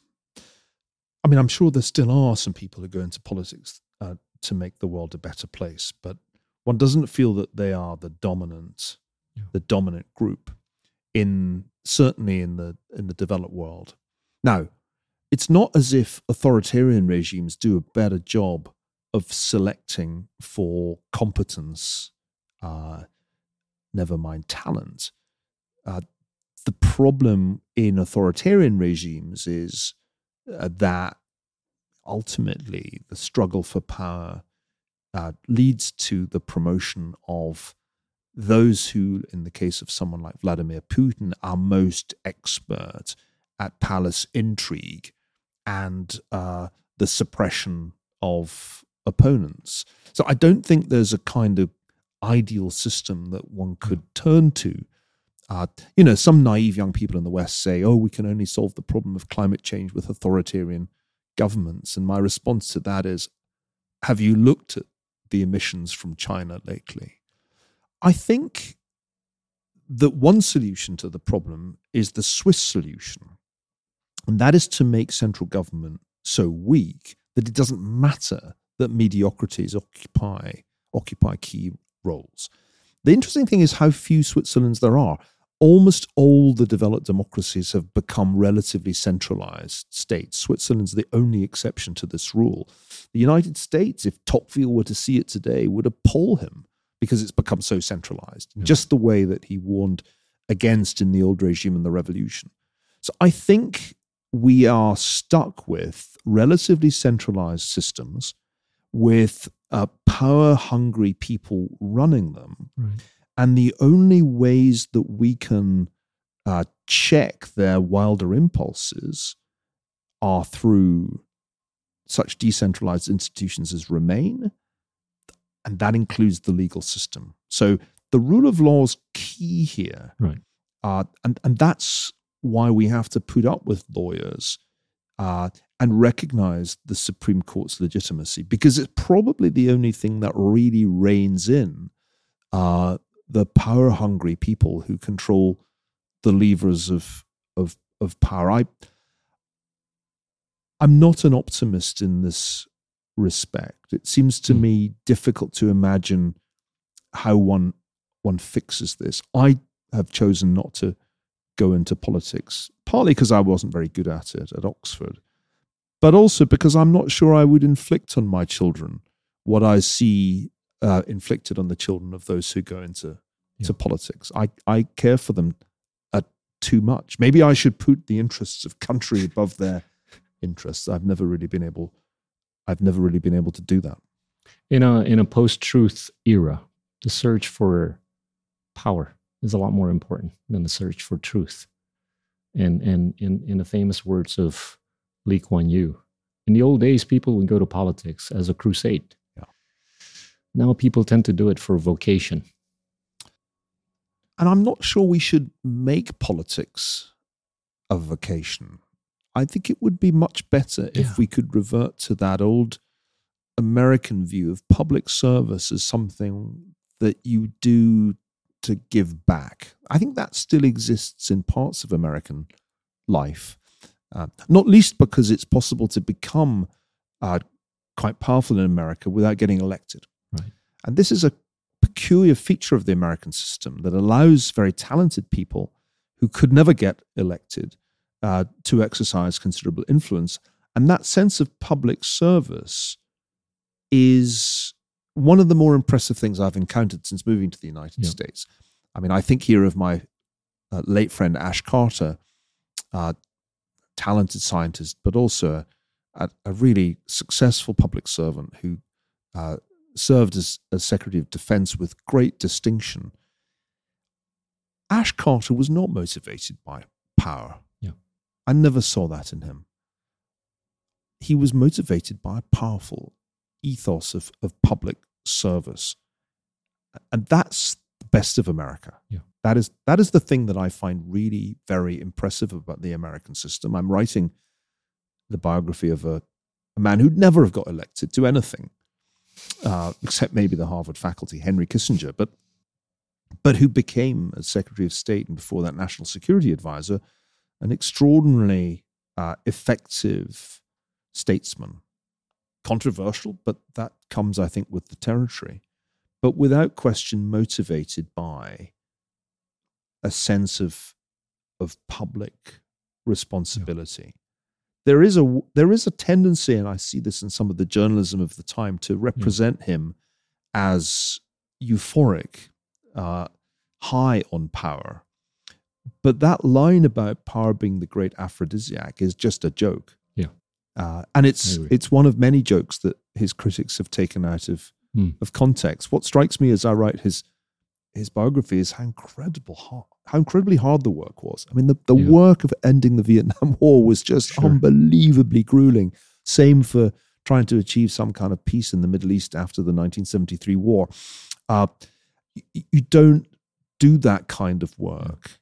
I mean, I'm sure there still are some people who go into politics uh, to make the world a better place, but one doesn't feel that they are the dominant, yeah. the dominant group in certainly in the in the developed world. Now, it's not as if authoritarian regimes do a better job of selecting for competence, uh, never mind talent. Uh, the problem in authoritarian regimes is uh, that ultimately the struggle for power uh, leads to the promotion of those who, in the case of someone like Vladimir Putin, are most expert at palace intrigue and uh, the suppression of opponents. So I don't think there's a kind of ideal system that one could turn to. Uh, you know, some naive young people in the West say, oh, we can only solve the problem of climate change with authoritarian governments. And my response to that is, have you looked at the emissions from China lately? I think that one solution to the problem is the Swiss solution, and that is to make central government so weak that it doesn't matter that mediocrities occupy occupy key roles. The interesting thing is how few Switzerlands there are. Almost all the developed democracies have become relatively centralized states. Switzerland's the only exception to this rule. The United States, if Tocqueville were to see it today, would appall him because it's become so centralized, yeah. just the way that he warned against in the old regime and the revolution. So I think we are stuck with relatively centralized systems with uh, power-hungry people running them. Right. And the only ways that we can uh, check their wilder impulses are through such decentralized institutions as Remain, and that includes the legal system. So the rule of law is key here. Right. Uh, and, and that's why we have to put up with lawyers uh, and recognize the Supreme Court's legitimacy, because it's probably the only thing that really reins in uh, the power-hungry people who control the levers of of of power. I, I'm not an optimist in this respect. It seems to mm. me difficult to imagine how one one fixes this. I have chosen not to go into politics, partly because I wasn't very good at it at Oxford, but also because I'm not sure I would inflict on my children what I see uh, inflicted on the children of those who go into yeah. to politics. I, I care for them uh, too much. Maybe I should put the interests of country above their interests. I've never really been able. I've never really been able to do that. In a in a post-truth era, the search for power is a lot more important than the search for truth. And and in in the famous words of Lee Kuan Yew, in the old days, people would go to politics as a crusade. Yeah. Now people tend to do it for vocation. And I'm not sure we should make politics a vocation. I think it would be much better Yeah. if we could revert to that old American view of public service as something that you do to give back. I think that still exists in parts of American life, uh, not least because it's possible to become uh, quite powerful in America without getting elected. Right. And this is a peculiar feature of the American system that allows very talented people who could never get elected uh, to exercise considerable influence. And that sense of public service is one of the more impressive things I've encountered since moving to the United Yeah. States. I mean, I think here of my uh, late friend Ash Carter, uh, talented scientist, but also a, a really successful public servant who uh, served as, as Secretary of Defense with great distinction. Ash Carter was not motivated by power. Yeah. I never saw that in him. He was motivated by a powerful ethos of, of public service. And that's the best of America. Yeah. That is that is the thing that I find really very impressive about the American system. I'm writing the biography of a, a man who'd never have got elected to anything, uh, except maybe the Harvard faculty, Henry Kissinger, but but who became, as Secretary of State and before that National Security Advisor, an extraordinarily uh, effective statesman. Controversial, but that comes, I think, with the territory. But without question, motivated by a sense of of public responsibility. Yeah. There is a there is a tendency, and I see this in some of the journalism of the time, to represent yeah. him as euphoric, uh, high on power. But that line about power being the great aphrodisiac is just a joke. Yeah. Uh, and it's it's one of many jokes that his critics have taken out of mm. of context. What strikes me as I write his his biography is how incredible hard, how incredibly hard the work was. I mean, the, the yeah. work of ending the Vietnam War was just sure. unbelievably grueling. Same for trying to achieve some kind of peace in the Middle East after the nineteen seventy-three war. Uh, you, you don't do that kind of work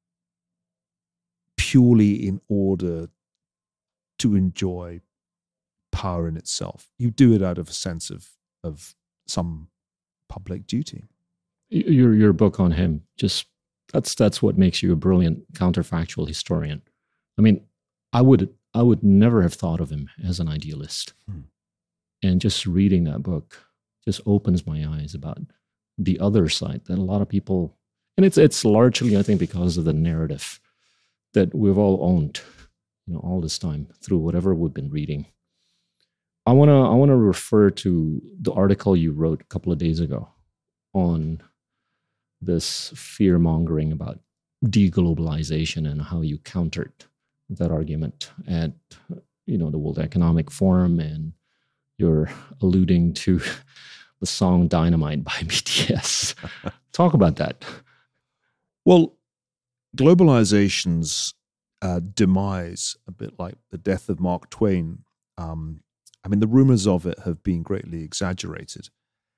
purely in order to enjoy power in itself. You do it out of a sense of of some public duty. Your your book on him, just that's that's what makes you a brilliant counterfactual historian. I mean, I would I would never have thought of him as an idealist. Hmm. And just reading that book just opens my eyes about the other side that a lot of people, and it's it's largely, I think, because of the narrative that we've all owned, you know, all this time through whatever we've been reading. I wanna I wanna refer to the article you wrote a couple of days ago on this fear mongering about deglobalization and how you countered that argument at, you know, the World Economic Forum, and you're alluding to the song Dynamite by B T S. Talk about that. Well, globalization's uh, demise, a bit like the death of Mark Twain, um, I mean, the rumors of it have been greatly exaggerated.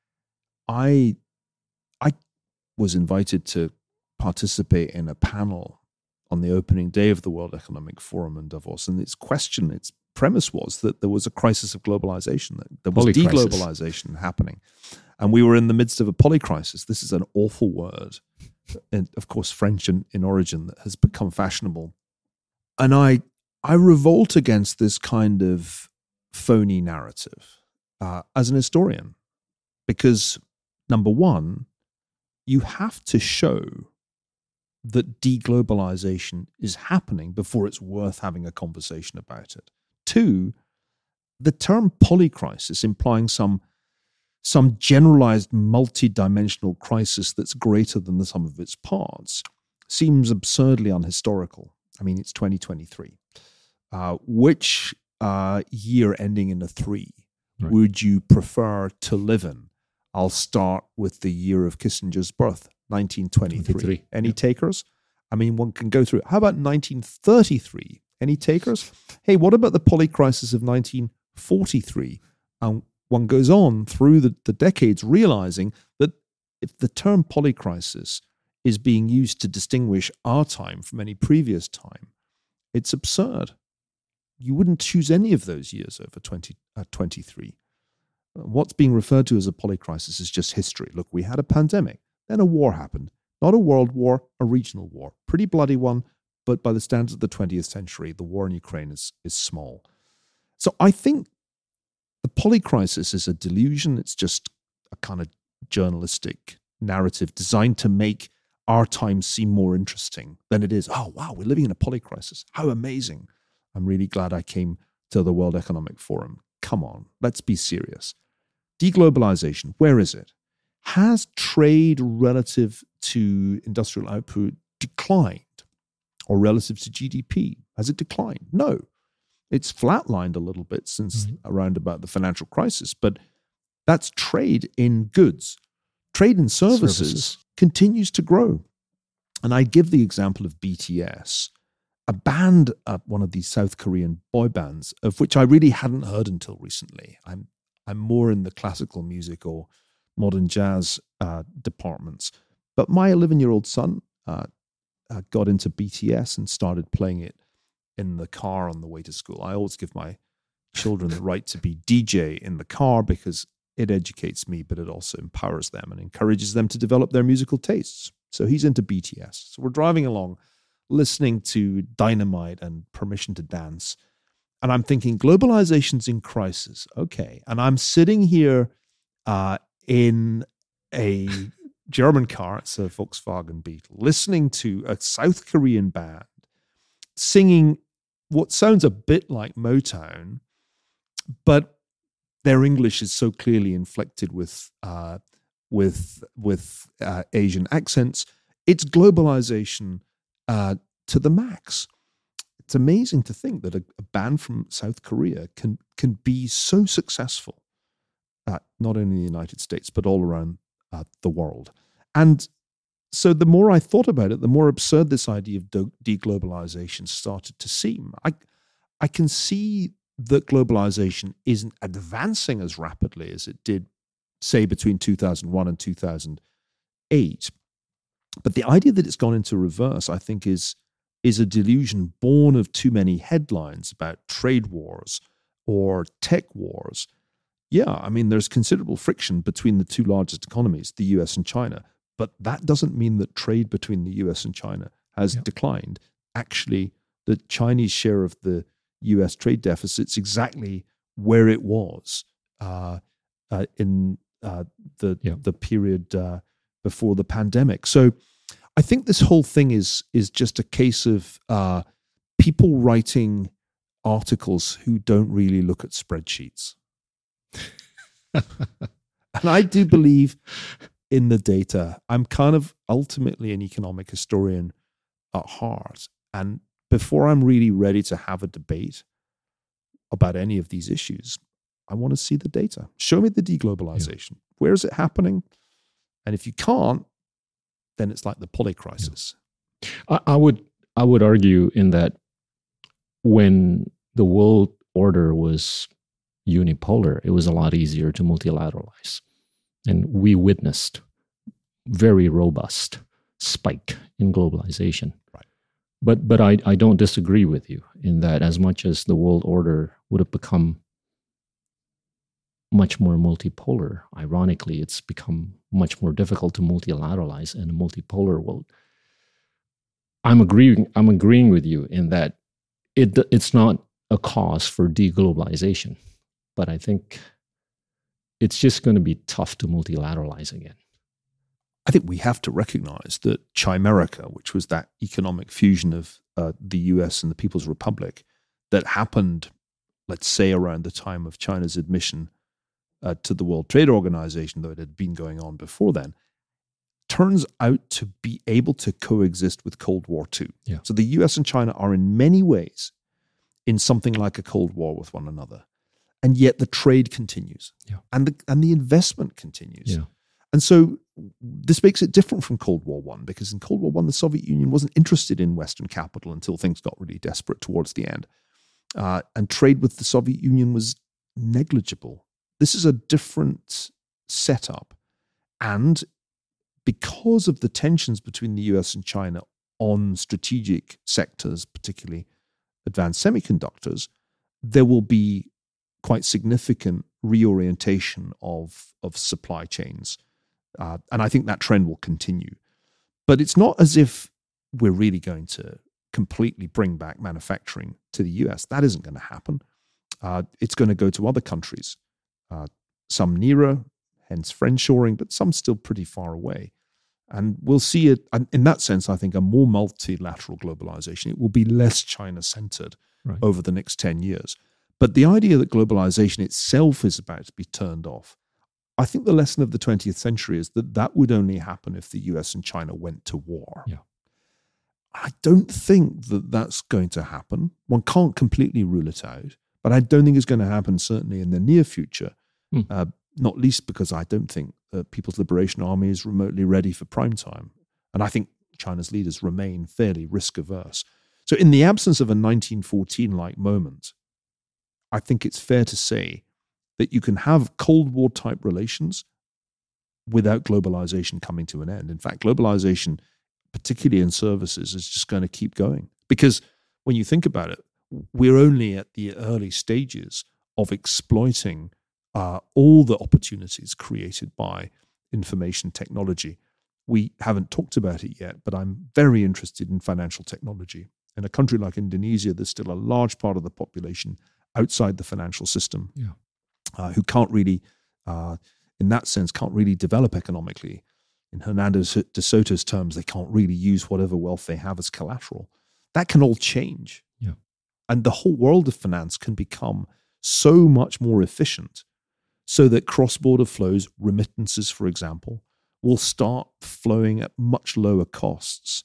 I, I was invited to participate in a panel on the opening day of the World Economic Forum in Davos, and its question, its premise was that there was a crisis of globalization, that there was deglobalization happening, and we were in the midst of a polycrisis. This is an awful word, and of course French in, in origin, that has become fashionable. And I, I revolt against this kind of phony narrative uh, as an historian, because number one, you have to show that deglobalization is happening before it's worth having a conversation about it. Two, the term polycrisis, implying some some generalized multi-dimensional crisis that's greater than the sum of its parts, seems absurdly unhistorical. I mean, it's twenty twenty-three. Uh, which uh, year ending in a three right. would you prefer to live in? I'll start with the year of Kissinger's birth, nineteen twenty-three. twenty-three. Any yeah. takers? I mean, one can go through it. How about nineteen thirty-three? Any takers? Hey, what about the polycrisis of nineteen forty-three? And one goes on through the, the decades realizing that if the term polycrisis is being used to distinguish our time from any previous time, it's absurd. you wouldn't choose any of those years over twenty, uh, twenty-three. What's being referred to as a polycrisis is just history. Look, we had a pandemic, then a war happened. Not a world war, a regional war. Pretty bloody one, but by the standards of the twentieth century, the war in Ukraine is, is small. So I think the polycrisis is a delusion. It's just a kind of journalistic narrative designed to make our time seem more interesting than it is. Oh, wow, we're living in a polycrisis. How amazing. I'm really glad I came to the World Economic Forum. Come on, let's be serious. Deglobalization, where is it? Has trade relative to industrial output declined? Or relative to G D P? Has it declined? No. It's flatlined a little bit since mm-hmm. around about the financial crisis, but that's trade in goods. Trade in services, services continues to grow. And I give the example of B T S, a band, uh, one of these South Korean boy bands, of which I really hadn't heard until recently. I'm I'm more in the classical music or modern jazz uh, departments. But my eleven-year-old son uh, uh, got into B T S and started playing it in the car on the way to school. I always give my children the right to be D J in the car because it educates me, but it also empowers them and encourages them to develop their musical tastes. So he's into B T S. So we're driving along, listening to Dynamite and Permission to Dance. And I'm thinking, globalization's in crisis. Okay. And I'm sitting here uh, in a German car, it's a Volkswagen Beetle, listening to a South Korean band singing what sounds a bit like Motown, but their English is so clearly inflected with uh, with with uh, Asian accents. It's globalization uh, to the max. It's amazing to think that a, a band from South Korea can can be so successful, uh, not only in the United States but all around uh, the world. And so the more I thought about it, the more absurd this idea of de- deglobalization started to seem. I I can see that globalization isn't advancing as rapidly as it did, say, between two thousand one and two thousand eight. But the idea that it's gone into reverse, I think, is, is a delusion born of too many headlines about trade wars or tech wars. Yeah, I mean, there's considerable friction between the two largest economies, the U S and China, but that doesn't mean that trade between the U S and China has yeah. declined. Actually, the Chinese share of the U S trade deficit's exactly where it was uh, uh, in uh, the yeah. the period uh, before the pandemic. So I think this whole thing is is just a case of uh, people writing articles who don't really look at spreadsheets. And I do believe in the data. I'm kind of ultimately an economic historian at heart. And before I'm really ready to have a debate about any of these issues, I want to see the data. Show me the deglobalization. Yeah. Where is it happening? And if you can't, then it's like the polycrisis. Yeah. I, I would I would argue in that when the world order was unipolar, it was a lot easier to multilateralize. And we witnessed very robust spike in globalization. Right. But but I, I don't disagree with you in that as much as the world order would have become much more multipolar, ironically, it's become much more difficult to multilateralize in a multipolar world. I'm agreeing, I'm agreeing with you in that it it's not a cause for deglobalization, but I think it's just going to be tough to multilateralize again. I think we have to recognize that Chimerica, which was that economic fusion of uh, the U S and the People's Republic that happened, let's say, around the time of China's admission uh, to the World Trade Organization, though it had been going on before then, turns out to be able to coexist with Cold War Two. Yeah. So the U S and China are in many ways in something like a Cold War with one another. And yet the trade continues, yeah. and the and the investment continues. Yeah. And so this makes it different from Cold War One, because in Cold War One, the Soviet Union wasn't interested in Western capital until things got really desperate towards the end. Uh, and trade with the Soviet Union was negligible. This is a different setup. And because of the tensions between the U S and China on strategic sectors, particularly advanced semiconductors, there will be quite significant reorientation of, of supply chains. Uh, and I think that trend will continue. But it's not as if we're really going to completely bring back manufacturing to the U S. That isn't going to happen. Uh, it's going to go to other countries, uh, some nearer, hence friendshoring, but some still pretty far away. And we'll see it, in that sense, I think, a more multilateral globalization. It will be less China-centered Right. over the next ten years. But the idea that globalization itself is about to be turned off, I think the lesson of the twentieth century is that that would only happen if the U S and China went to war. Yeah. I don't think that that's going to happen. One can't completely rule it out, but I don't think it's going to happen certainly in the near future, Hmm. uh, not least because I don't think the People's Liberation Army is remotely ready for prime time. And I think China's leaders remain fairly risk-averse. So in the absence of a nineteen fourteen-like moment, I think it's fair to say that you can have Cold War-type relations without globalization coming to an end. In fact, globalization, particularly in services, is just going to keep going. Because when you think about it, we're only at the early stages of exploiting uh, all the opportunities created by information technology. We haven't talked about it yet, but I'm very interested in financial technology. In a country like Indonesia, there's still a large part of the population outside the financial system Yeah. uh, who can't really, uh, in that sense, can't really develop economically. In Hernando de Soto's terms, they can't really use whatever wealth they have as collateral. That can all change. Yeah. And the whole world of finance can become so much more efficient so that cross-border flows, remittances, for example, will start flowing at much lower costs.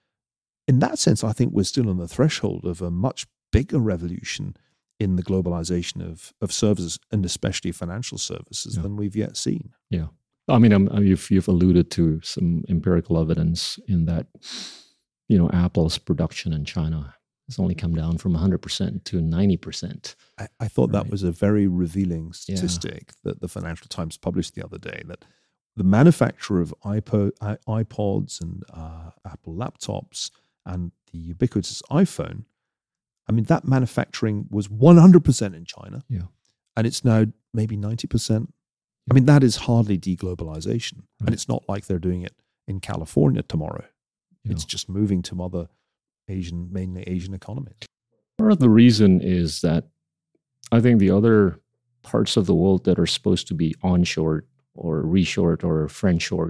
In that sense, I think we're still on the threshold of a much bigger revolution in the globalization of, of services, and especially financial services, Yeah. than we've yet seen. Yeah. I mean, um, you've, you've alluded to some empirical evidence in that, you know, Apple's production in China has only come down from one hundred percent to ninety percent. I, I thought that Right. was a very revealing statistic that the Financial Times published the other day, that the manufacture of iPod, i- iPods and uh, Apple laptops and the ubiquitous iPhone, I mean, that manufacturing was one hundred percent in China. Yeah. And it's now maybe ninety percent. I mean, that is hardly deglobalization. Right. And it's not like they're doing it in California tomorrow. Yeah. It's just moving to other Asian, mainly Asian economies. Part of the reason is that I think the other parts of the world that are supposed to be onshore or reshored or friendshored,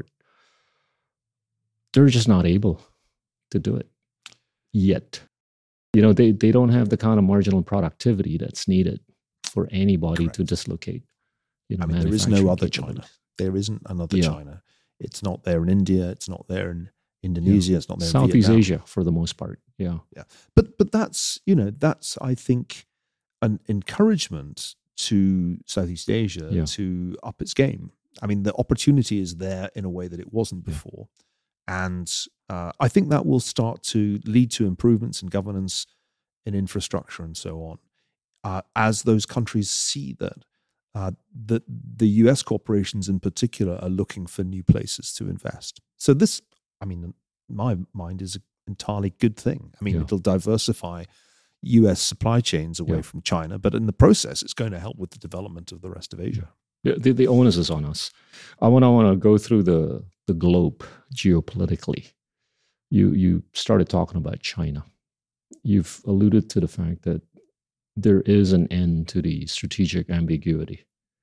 they're just not able to do it yet. You know, they, they don't have the kind of marginal productivity that's needed for anybody Correct. to dislocate. You know, I mean, there is no manufacturing other China. capabilities. There isn't another Yeah. China. It's not there in India. It's not there in Indonesia. It's not there in Southeast Vietnam. Asia for the most part. Yeah. But but that's, you know, that's, I think, an encouragement to Southeast Asia Yeah. to up its game. I mean, the opportunity is there in a way that it wasn't Yeah. before. And uh, I think that will start to lead to improvements in governance, in infrastructure, and so on, uh, as those countries see that, uh, that the U S corporations in particular are looking for new places to invest. So this, I mean, in my mind, is an entirely good thing. I mean, Yeah. it'll diversify U S supply chains away Yeah. from China, but in the process, it's going to help with the development of the rest of Asia. Yeah, the, the onus is on us. I want to want to go through the the globe geopolitically. You you started talking about China. You've alluded to the fact that there is an end to the strategic ambiguity,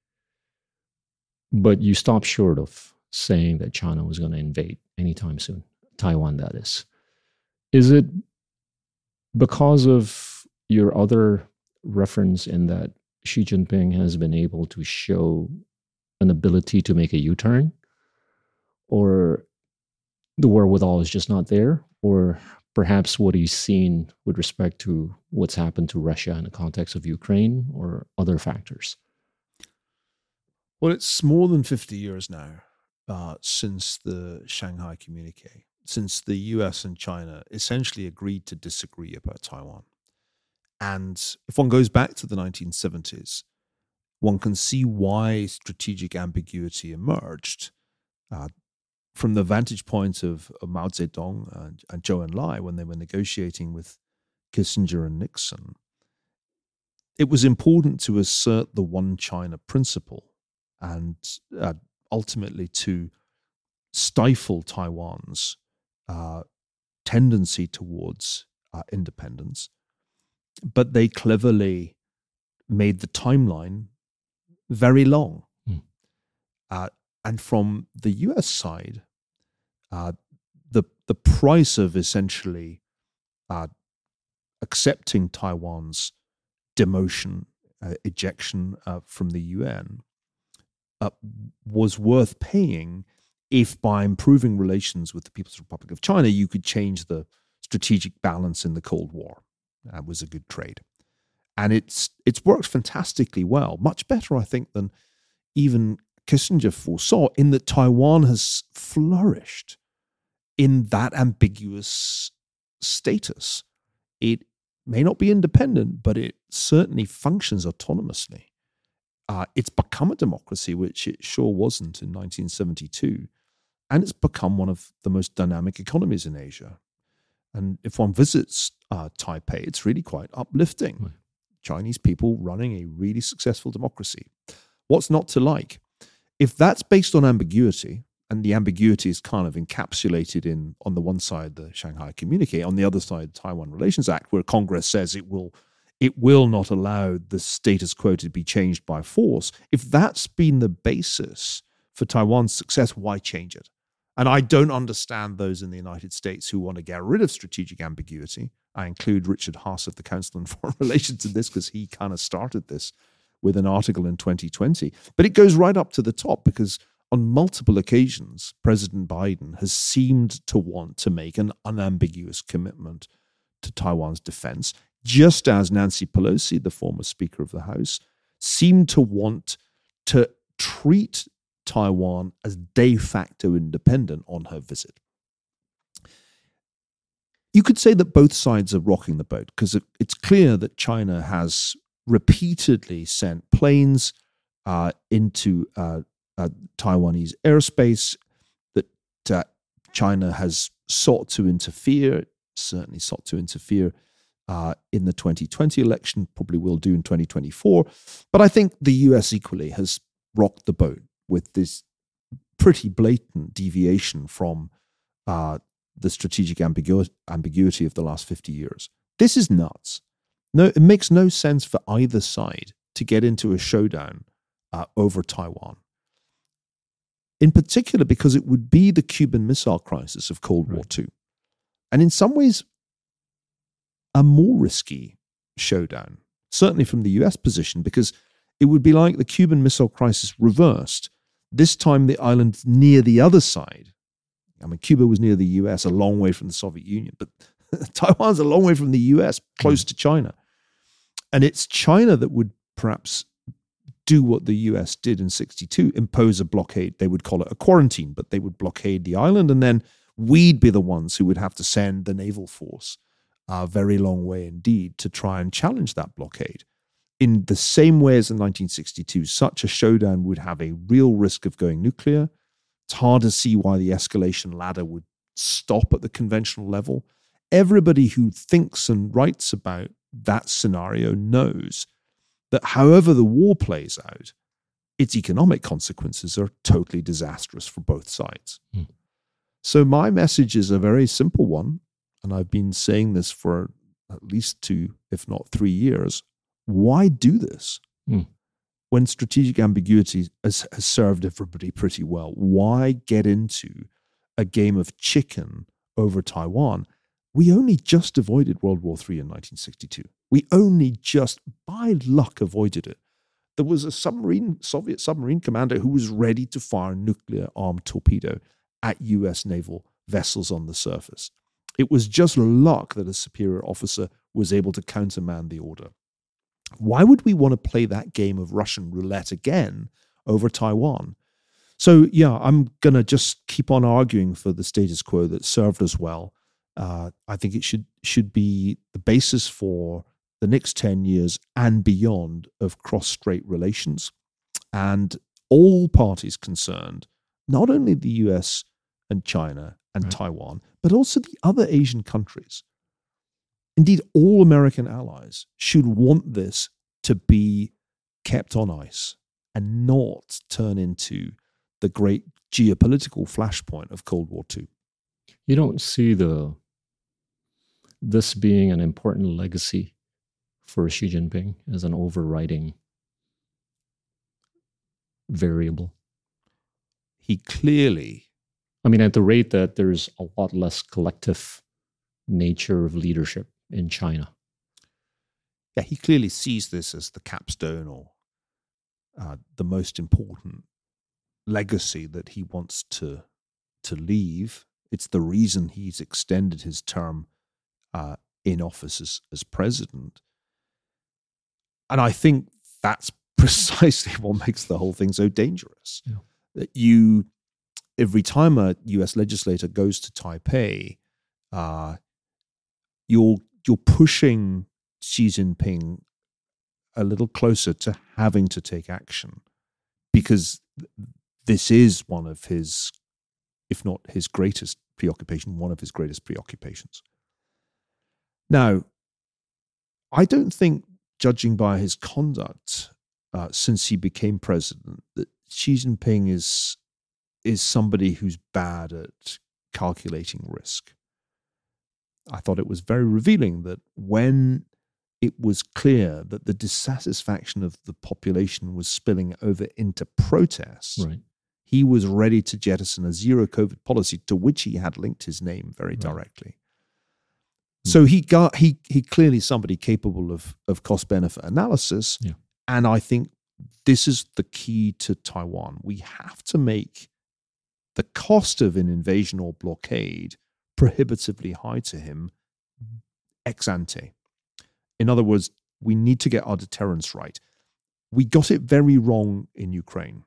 but you stopped short of saying that China was going to invade anytime soon. Taiwan, that is. Is it because of your other reference in that Xi Jinping has been able to show an ability to make a U-turn, or the wherewithal is just not there, or perhaps what he's seen with respect to what's happened to Russia in the context of Ukraine, or other factors? Well, it's more than fifty years now uh, since the Shanghai Communique, since the U S and China essentially agreed to disagree about Taiwan. And if one goes back to the nineteen seventies, one can see why strategic ambiguity emerged. Uh, from the vantage point of, of Mao Zedong and, and Zhou Enlai when they were negotiating with Kissinger and Nixon, it was important to assert the one China principle and uh, ultimately to stifle Taiwan's uh, tendency towards uh, independence. But they cleverly made the timeline very long. Mm. Uh, and from the U S side, uh, the the price of essentially uh, accepting Taiwan's demotion, uh, ejection uh, from the U N, uh, was worth paying if by improving relations with the People's Republic of China, you could change the strategic balance in the Cold War. That was a good trade. And it's it's worked fantastically well, much better, I think, than even Kissinger foresaw, in that Taiwan has flourished in that ambiguous status. It may not be independent, but it certainly functions autonomously. Uh, it's become a democracy, which it sure wasn't in nineteen seventy-two. And it's become one of the most dynamic economies in Asia. And if one visits uh, Taipei, it's really quite uplifting. Right. Chinese people running a really successful democracy. What's not to like? If that's based on ambiguity, and the ambiguity is kind of encapsulated in, on the one side, the Shanghai Communique, on the other side, the Taiwan Relations Act, where Congress says it will it will not allow the status quo to be changed by force. If that's been the basis for Taiwan's success, why change it? And I don't understand those in the United States who want to get rid of strategic ambiguity. I include Richard Haass of the Council on Foreign Relations in this because he kind of started this with an article in twenty twenty. But it goes right up to the top because on multiple occasions, President Biden has seemed to want to make an unambiguous commitment to Taiwan's defense, just as Nancy Pelosi, the former Speaker of the House, seemed to want to treat Taiwan as de facto independent on her visit. You could say that both sides are rocking the boat because it, it's clear that China has repeatedly sent planes uh, into uh, uh, Taiwanese airspace, that uh, China has sought to interfere, certainly sought to interfere uh, in the twenty twenty election, probably will do in twenty twenty-four. But I think the U S equally has rocked the boat with this pretty blatant deviation from uh, the strategic ambigu- ambiguity of the last fifty years. This is nuts. No, it makes no sense for either side to get into a showdown uh, over Taiwan. In particular, because it would be the Cuban Missile Crisis of Cold War Two. And in some ways, a more risky showdown, certainly from the U S position, because it would be like the Cuban Missile Crisis reversed. This time the island near the other side. I mean, Cuba was near the U S, a long way from the Soviet Union, but Taiwan's a long way from the U S, close to China. And it's China that would perhaps do what the U S did in sixty-two, impose a blockade. They would call it a quarantine, but they would blockade the island, and then we'd be the ones who would have to send the naval force a very long way indeed to try and challenge that blockade. In the same way as in nineteen sixty-two, such a showdown would have a real risk of going nuclear. It's hard to see why the escalation ladder would stop at the conventional level. Everybody who thinks and writes about that scenario knows that however the war plays out, its economic consequences are totally disastrous for both sides. Mm. So my message is a very simple one, and I've been saying this for at least two, if not three years. Why do this? Mm. When strategic ambiguity has, has served everybody pretty well, why get into a game of chicken over Taiwan? We only just avoided World War Three in nineteen sixty-two. We only just, by luck, avoided it. There was a submarine, Soviet submarine commander who was ready to fire a nuclear-armed torpedo at U S naval vessels on the surface. It was just luck that a superior officer was able to countermand the order. Why would we want to play that game of Russian roulette again over Taiwan? So, yeah, I'm going to just keep on arguing for the status quo that served us well. Uh, I think it should should be the basis for the next ten years and beyond of cross-strait relations. And all parties concerned, not only the U S and China and right. Taiwan, but also the other Asian countries. Indeed, all American allies should want this to be kept on ice and not turn into the great geopolitical flashpoint of Cold War Two. You don't see the this being an important legacy for Xi Jinping as an overriding variable? He clearly... I mean, at the rate that there's a lot less collective nature of leadership in China. Yeah, he clearly sees this as the capstone or uh, the most important legacy that he wants to to leave. It's the reason he's extended his term uh, in office as, as president. And I think that's precisely what makes the whole thing so dangerous. Yeah. That you, every time a U S legislator goes to Taipei, uh, you're you're pushing Xi Jinping a little closer to having to take action, because this is one of his, if not his greatest preoccupation, one of his greatest preoccupations. Now, I don't think, judging by his conduct uh, since he became president, that Xi Jinping is is somebody who's bad at calculating risk. I thought it was very revealing that when it was clear that the dissatisfaction of the population was spilling over into protests, Right. he was ready to jettison a zero COVID policy to which he had linked his name very Right. directly. So he got he he clearly somebody capable of of cost benefit analysis, Yeah. and I think this is the key to Taiwan. We have to make the cost of an invasion or blockade prohibitively high to him ex ante. In other words, we need to get our deterrence right. We got it very wrong in Ukraine.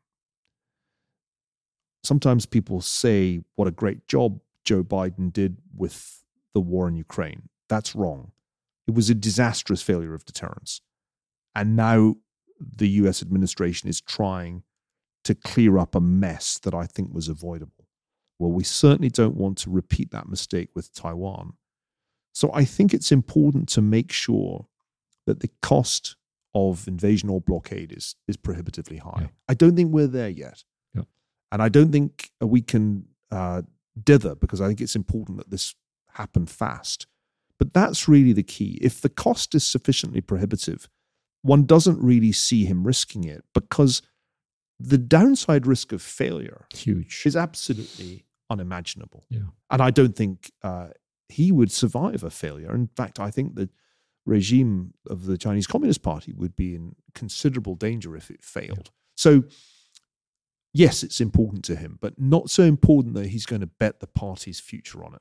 Sometimes people say what a great job Joe Biden did with the war in Ukraine. That's wrong. It was a disastrous failure of deterrence. And now the U S administration is trying to clear up a mess that I think was avoidable. Well, we certainly don't want to repeat that mistake with Taiwan. So I think it's important to make sure that the cost of invasion or blockade is, is prohibitively high. Yeah. I don't think we're there yet. Yeah. And I don't think we can uh, dither, because I think it's important that this happen fast. But that's really the key. If the cost is sufficiently prohibitive, one doesn't really see him risking it, because the downside risk of failure Huge. is absolutely unimaginable. Yeah. And I don't think uh, he would survive a failure. In fact, I think the regime of the Chinese Communist Party would be in considerable danger if it failed. So, yes, it's important to him, but not so important that he's going to bet the party's future on it.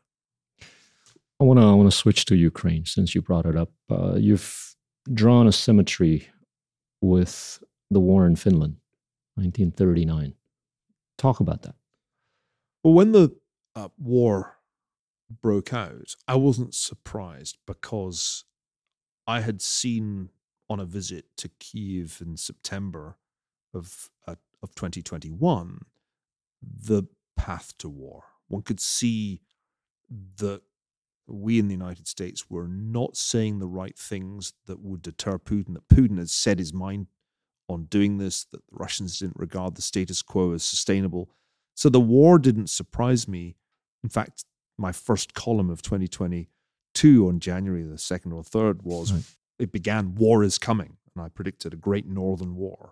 I want to I want to switch to Ukraine since you brought it up. Uh, you've drawn a symmetry with the war in Finland, nineteen thirty-nine. Talk about that. Well, when the uh, war broke out, I wasn't surprised, because I had seen on a visit to Kyiv in September of uh, of twenty twenty-one the path to war. One could see that we in the United States were not saying the right things that would deter Putin, that Putin had set his mind on doing this, that the Russians didn't regard the status quo as sustainable. So the war didn't surprise me. In fact, my first column of twenty twenty-two on January the second or third was, right. It began, war is coming, and I predicted a great northern war.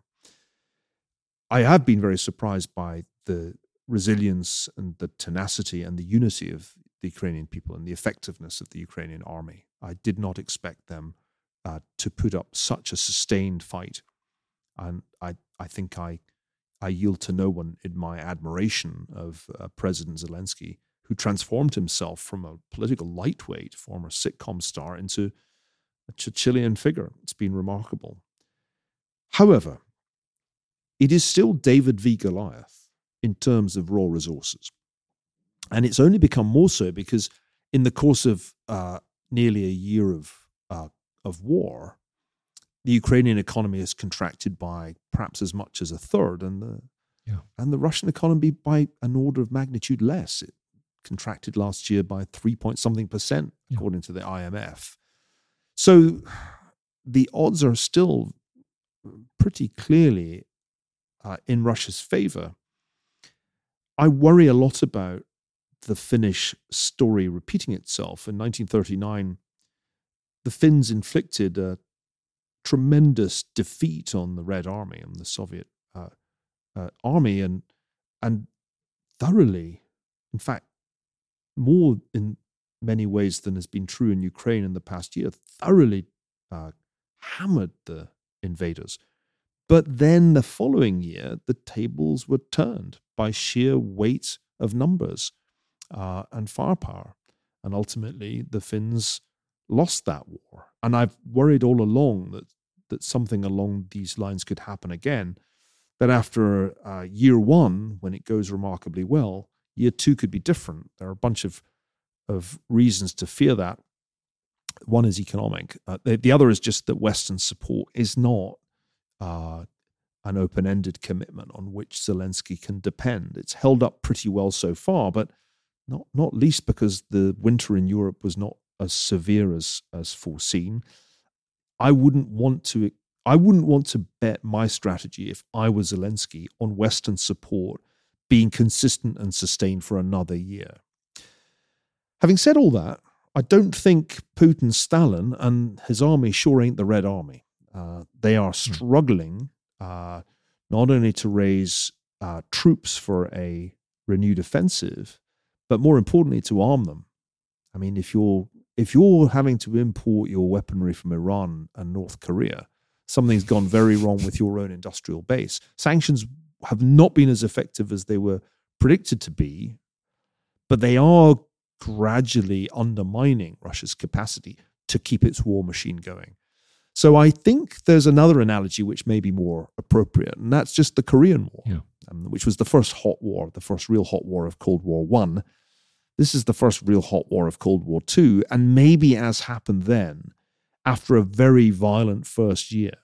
I have been very surprised by the resilience and the tenacity and the unity of the Ukrainian people and the effectiveness of the Ukrainian army. I did not expect them uh, to put up such a sustained fight. And I, I think I, I yield to no one in my admiration of uh, President Zelensky, who transformed himself from a political lightweight, former sitcom star, into a Churchillian figure. It's been remarkable. However, it is still David v. Goliath in terms of raw resources. And it's only become more so because in the course of uh, nearly a year of uh, of war, the Ukrainian economy has contracted by perhaps as much as a third, and the yeah. and the Russian economy by an order of magnitude less. It contracted last year by three point something percent, according yeah. to the I M F. So the odds are still pretty clearly uh, in Russia's favor. I worry a lot about the Finnish story repeating itself. In nineteen thirty-nine, the Finns inflicted a tremendous defeat on the Red Army and the Soviet uh, uh, army, and and thoroughly, in fact, more in many ways than has been true in Ukraine in the past year, thoroughly uh, hammered the invaders. But then the following year, the tables were turned by sheer weight of numbers uh, and firepower. And ultimately, the Finns lost that war. And I've worried all along that, that something along these lines could happen again, that after uh, year one, when it goes remarkably well, year two could be different. There are a bunch of, of reasons to fear that. One is economic. Uh, the, the other is just that Western support is not uh, an open-ended commitment on which Zelensky can depend. It's held up pretty well so far, but not not least because the winter in Europe was not as severe as as foreseen. I wouldn't want to I wouldn't want to bet my strategy, if I was Zelensky, on Western support being consistent and sustained for another year. Having said all that, I don't think Putin, Stalin, and his army sure ain't the Red Army. Uh, they are struggling uh, not only to raise uh, troops for a renewed offensive, but more importantly, to arm them. I mean, if you're if you're having to import your weaponry from Iran and North Korea, something's gone very wrong with your own industrial base. Sanctions have not been as effective as they were predicted to be, but they are gradually undermining Russia's capacity to keep its war machine going. So I think there's another analogy which may be more appropriate, and that's just the Korean War, yeah. um, which was the first hot war, the first real hot war of Cold War One. This is the first real hot war of Cold War Two, and maybe, as happened then, after a very violent first year,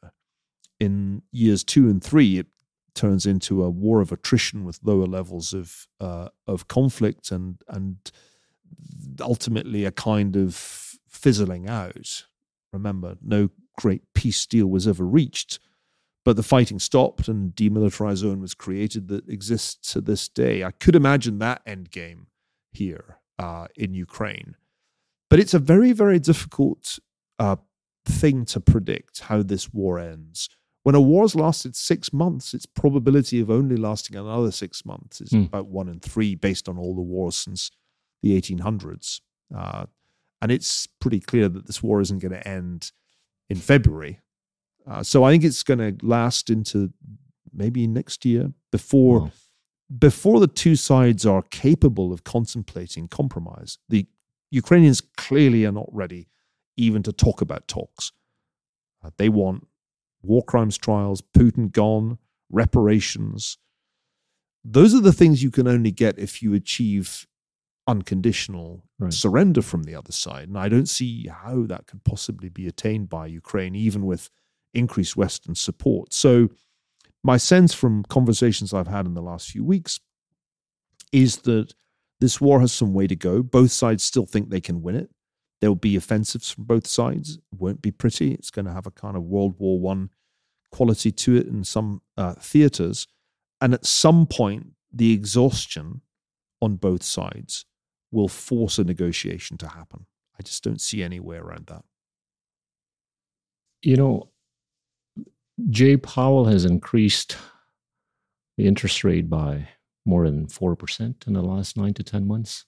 in years two and three, it turns into a war of attrition with lower levels of uh, of conflict and and ultimately a kind of fizzling out. Remember, no great peace deal was ever reached, but the fighting stopped and a demilitarized zone was created that exists to this day. I could imagine that end game here uh, in Ukraine. But it's a very, very difficult uh, thing to predict how this war ends. When a war's lasted six months, its probability of only lasting another six months is mm. about one in three based on all the wars since the eighteen hundreds. Uh, and it's pretty clear that this war isn't going to end in February. Uh, so I think it's going to last into maybe next year before, wow. before the two sides are capable of contemplating compromise. The Ukrainians clearly are not ready even to talk about talks. Uh, they want war crimes trials, Putin gone, reparations. Those are the things you can only get if you achieve unconditional right. surrender from the other side. And I don't see how that could possibly be attained by Ukraine, even with increased Western support. So my sense from conversations I've had in the last few weeks is that this war has some way to go. Both sides still think they can win it. There'll be offensives from both sides. It won't be pretty. It's going to have a kind of World War One quality to it in some uh, theaters. And at some point, the exhaustion on both sides will force a negotiation to happen. I just don't see any way around that. You know, Jay Powell has increased the interest rate by more than four percent in the last nine to ten months.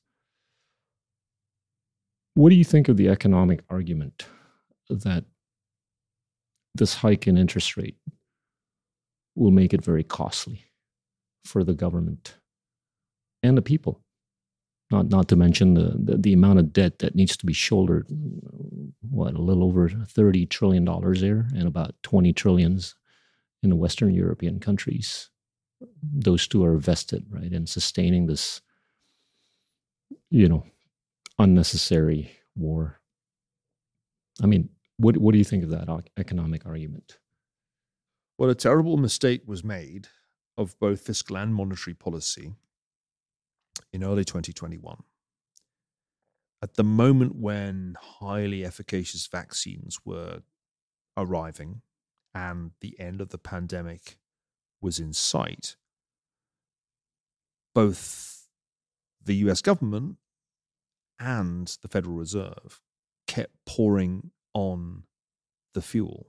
What do you think of the economic argument that this hike in interest rate will make it very costly for the government and the people? Not not to mention the, the, the amount of debt that needs to be shouldered, what, a little over thirty trillion dollars there, and about twenty trillions in the Western European countries. Those two are vested, right, in sustaining this, you know, unnecessary war. I mean, what what do you think of that economic argument? Well, a terrible mistake was made of both fiscal and monetary policy in early twenty twenty-one. At the moment when highly efficacious vaccines were arriving and the end of the pandemic was in sight, both the U S government and the Federal Reserve kept pouring on the fuel.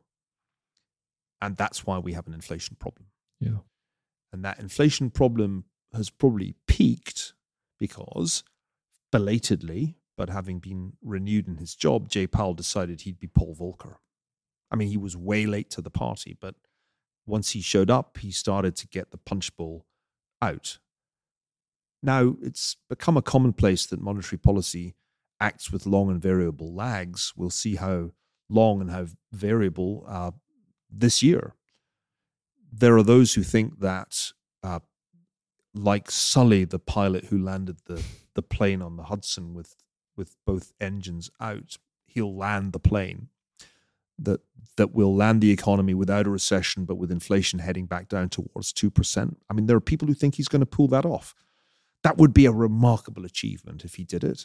And that's why we have an inflation problem. Yeah. And that inflation problem has probably peaked because belatedly, but having been renewed in his job, Jay Powell decided he'd be Paul Volcker. I mean, he was way late to the party, but once he showed up, he started to get the punch bowl out. Now, it's become a commonplace that monetary policy acts with long and variable lags. We'll see how long and how variable uh, this year. There are those who think that, uh, like Sully, the pilot who landed the, the plane on the Hudson with, with both engines out, he'll land the plane, that that will land the economy without a recession, but with inflation heading back down towards two percent. I mean, there are people who think he's going to pull that off. That would be a remarkable achievement if he did it.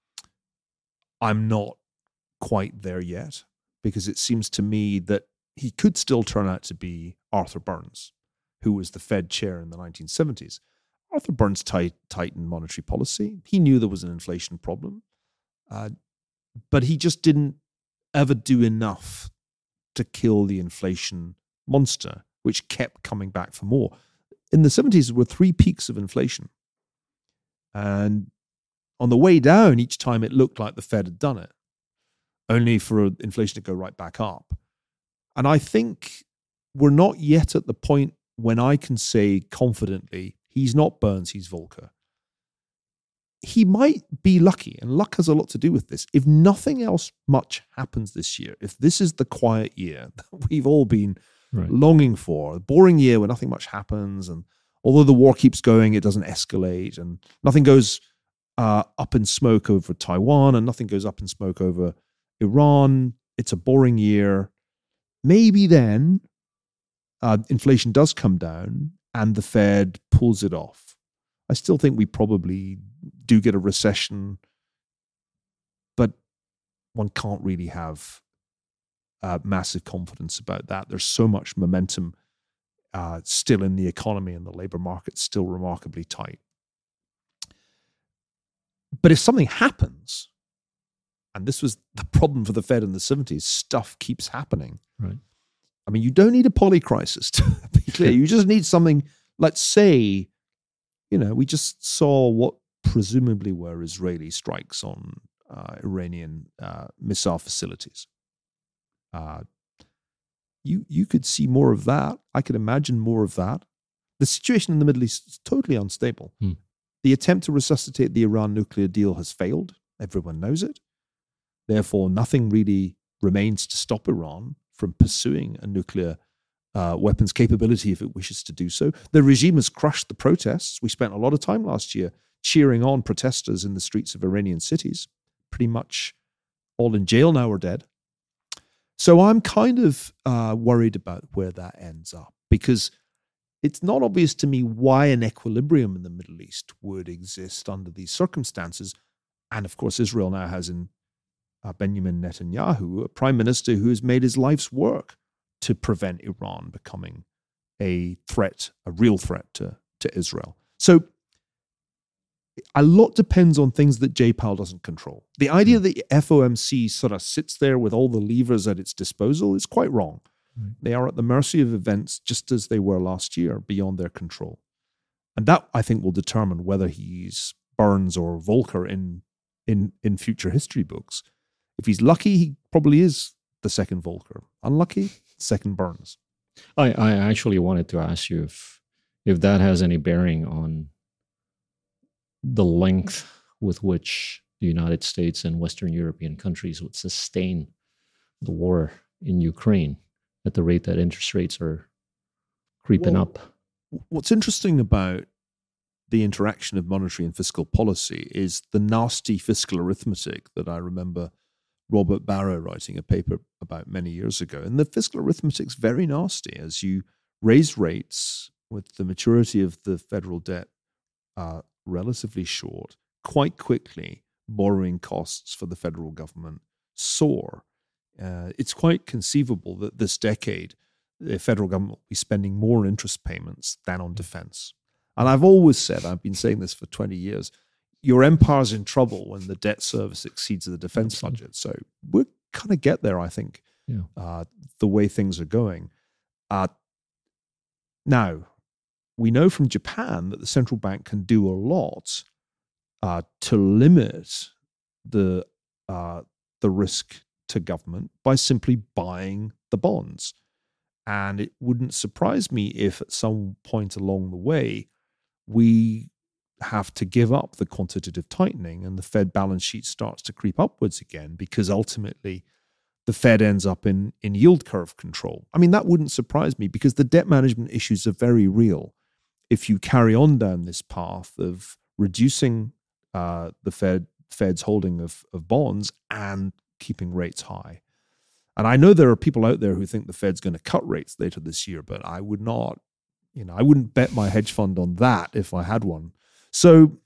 I'm not quite there yet, because it seems to me that he could still turn out to be Arthur Burns, who was the Fed chair in the nineteen seventies. Arthur Burns tight, tightened monetary policy. He knew there was an inflation problem, uh, but he just didn't ever do enough to kill the inflation monster, which kept coming back for more. In the seventies, there were three peaks of inflation. And on the way down, each time it looked like the Fed had done it, only for inflation to go right back up. And I think we're not yet at the point when I can say confidently, he's not Burns, he's Volcker. He might be lucky, and luck has a lot to do with this. If nothing else much happens this year, if this is the quiet year that we've all been right. longing for, a boring year where nothing much happens, and although the war keeps going, it doesn't escalate, and nothing goes uh, up in smoke over Taiwan, and nothing goes up in smoke over Iran. It's a boring year. Maybe then uh, inflation does come down and the Fed pulls it off. I still think we probably do get a recession, but one can't really have uh, massive confidence about that. There's so much momentum uh, still in the economy, and the labor market's still remarkably tight. But if something happens, and this was the problem for the Fed in the seventies, stuff keeps happening. Right. I mean, you don't need a polycrisis to be clear. You just need something, let's say, you know, we just saw what presumably were Israeli strikes on uh, Iranian uh, missile facilities. Uh, you you could see more of that. I could imagine more of that. The situation in the Middle East is totally unstable. Hmm. The attempt to resuscitate the Iran nuclear deal has failed. Everyone knows it. Therefore, nothing really remains to stop Iran from pursuing a nuclear uh, weapons capability if it wishes to do so. The regime has crushed the protests. We spent a lot of time last year cheering on protesters in the streets of Iranian cities, pretty much all in jail now or dead. So I'm kind of uh, worried about where that ends up, because it's not obvious to me why an equilibrium in the Middle East would exist under these circumstances. And of course, Israel now has in uh, Benjamin Netanyahu, a prime minister who has made his life's work to prevent Iran becoming a threat, a real threat to, to Israel. So a lot depends on things that Jay Powell doesn't control. The idea that the F O M C sort of sits there with all the levers at its disposal is quite wrong. Right. They are at the mercy of events just as they were last year, beyond their control. And that, I think, will determine whether he's Burns or Volcker in, in, in future history books. If he's lucky, he probably is the second Volcker. Unlucky, second Burns. I, I actually wanted to ask you if if that has any bearing on the length with which the United States and Western European countries would sustain the war in Ukraine at the rate that interest rates are creeping well, up. What's interesting about the interaction of monetary and fiscal policy is the nasty fiscal arithmetic that I remember Robert Barro writing a paper about many years ago. And the fiscal arithmetic's very nasty. As you raise rates with the maturity of the federal debt uh, relatively short, quite quickly borrowing costs for the federal government soar. Uh, it's quite conceivable that this decade the federal government will be spending more on interest payments than on defense. And I've always said, I've been saying this for twenty years, your empire's in trouble when the debt service exceeds the defense Absolutely. budget. So we're kind of get there, I think, Yeah. uh, the way things are going. Uh, now, we know from Japan that the central bank can do a lot uh, to limit the uh, the risk to government by simply buying the bonds. And it wouldn't surprise me if at some point along the way, we have to give up the quantitative tightening and the Fed balance sheet starts to creep upwards again, because ultimately the Fed ends up in, in yield curve control. I mean, that wouldn't surprise me, because the debt management issues are very real. If you carry on down this path of reducing uh, the Fed Fed's holding of, of bonds and keeping rates high. And I know there are people out there who think the Fed's going to cut rates later this year, but I would not, you know, I wouldn't bet my hedge fund on that if I had one. So